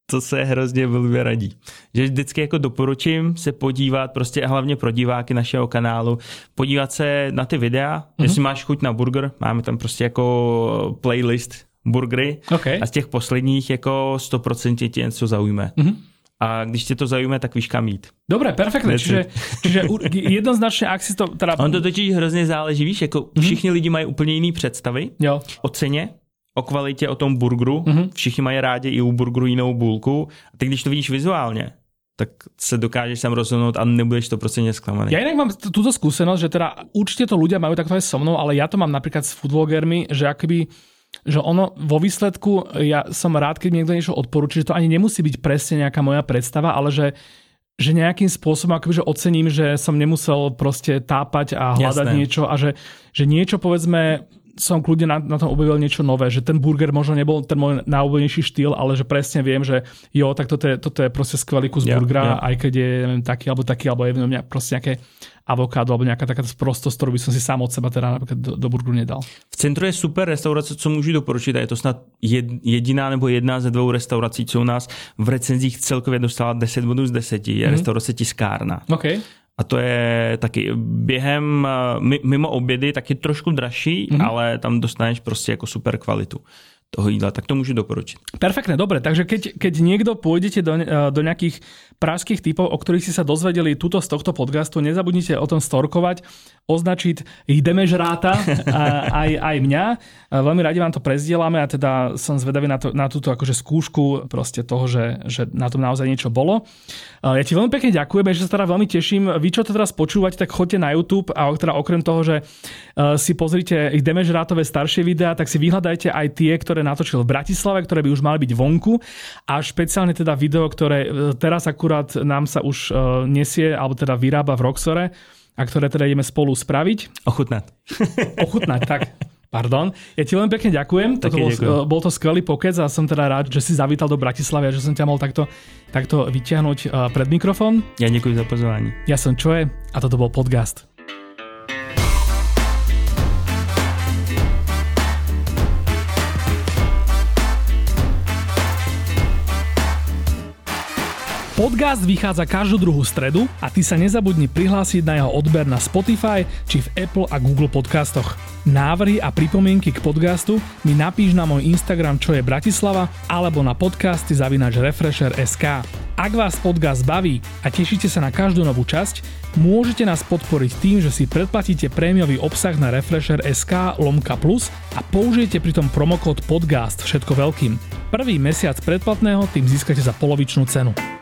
to se hrozně blbě radí. Že vždycky jako doporučím se podívat, prostě a hlavně pro diváky našeho kanálu, podívat se na ty videa, mm-hmm. jestli máš chuť na burger, máme tam prostě jako playlist burgery okay. a z těch posledních jako sto procent ti něco zaujme. Mm-hmm. A když tě to zaujme, tak víš kam jít. Dobre, perfektne. Čiže, čiže jednoznačne, ak si to... Teda... On to totiž hrozně záleží, víš, jako mm-hmm. všichni lidi mají úplně jiný představy jo. o ceně, o kvalitě, o tom burgeru. Mm-hmm. Všichni mají rádi i u burgeru jinou bůlku. A ty, když to vidíš vizuálně, tak se dokážeš sam rozhodnout a nebudeš to prostě nesklamaný. Ja inak mám túto skúsenosť, že teda určite to ľudia majú takto aj so mnou, ale ja to mám napríklad s foodvlogermi, že akoby, že ono vo výsledku, ja som rád, keď mi niekto niečo odporúči, že to ani nemusí byť presne nejaká moja predstava, ale že že nejakým spôsobom akoby, že ocením, že som nemusel proste tápať a hľadať Jasné. niečo a že, že niečo povedzme som kľudne na, na tom objavil niečo nové, že ten burger možno nebol ten môj najobľúbenejší štýl, ale že presne viem, že jo, tak toto je, toto je proste skvelý kus yeah, burgera, yeah. aj keď je neviem, taký alebo taký, alebo je neviem, proste nejaké avokádo, alebo nejaká taká prostost, ktorú by som si sám od seba teda napríklad do, do burgeru nedal. V centru je super restaurace, co můžu doporučit, a je to snad jediná nebo jedna ze dvou restaurací, co u nás v recenzích celkově dostala deset bodů z deseti, je mm-hmm. restaurace Tiskárna. Okay. A to je taky během, mimo obědy, taky trošku dražší, mm-hmm. ale tam dostaneš prostě jako super kvalitu toho jídla, tak to môžu doporučiť. Perfektne, dobre, takže keď, keď niekto pôjdete do, do nejakých pražských typov, o ktorých si sa dozvedeli tuto z tohto podcastu, nezabudnite o tom storkovať, označiť ideme žráta aj, aj mňa. Veľmi radi vám to prezdielame a teda som zvedavý na, to, na túto akože skúšku proste toho, že, že na tom naozaj niečo bolo. Ja ti veľmi pekne ďakujem, že sa teda veľmi teším. Vy, čo to teraz počúvate, tak choďte na YouTube a teda okrem toho, že si pozrite ideme žrátové staršie videá, tak si vyhľadajte aj tie, ktoré natočil v Bratislave, ktoré by už mali byť vonku a špeciálne teda video, ktoré teraz akurát nám sa už nesie, alebo teda vyrába v Roxore a ktoré teda ideme spolu spraviť. Ochutnať. Ochutnať, tak. Pardon. Ja ti veľmi pekne ďakujem. Toto bol, bol to skvelý pokec a som teda rád, že si zavítal do Bratislavy a že som ťa mohol takto, takto vyťahnuť pred mikrofón. Ja ďakujem za pozvanie. Ja som Čoe a toto bol podcast. Podcast vychádza každú druhú stredu a ty sa nezabudni prihlásiť na jeho odber na Spotify či v Apple a Google podcastoch. Návrhy a pripomienky k podcastu mi napíš na môj Instagram čo je Bratislava alebo na podcasty zavináč refresher bodka es ká. Ak vás podcast baví a tešíte sa na každú novú časť, môžete nás podporiť tým, že si predplatíte prémiový obsah na refresher bodka es ká lomka plus a použijete pritom promokód podcast všetko veľkým. Prvý mesiac predplatného tým získate za polovičnú cenu.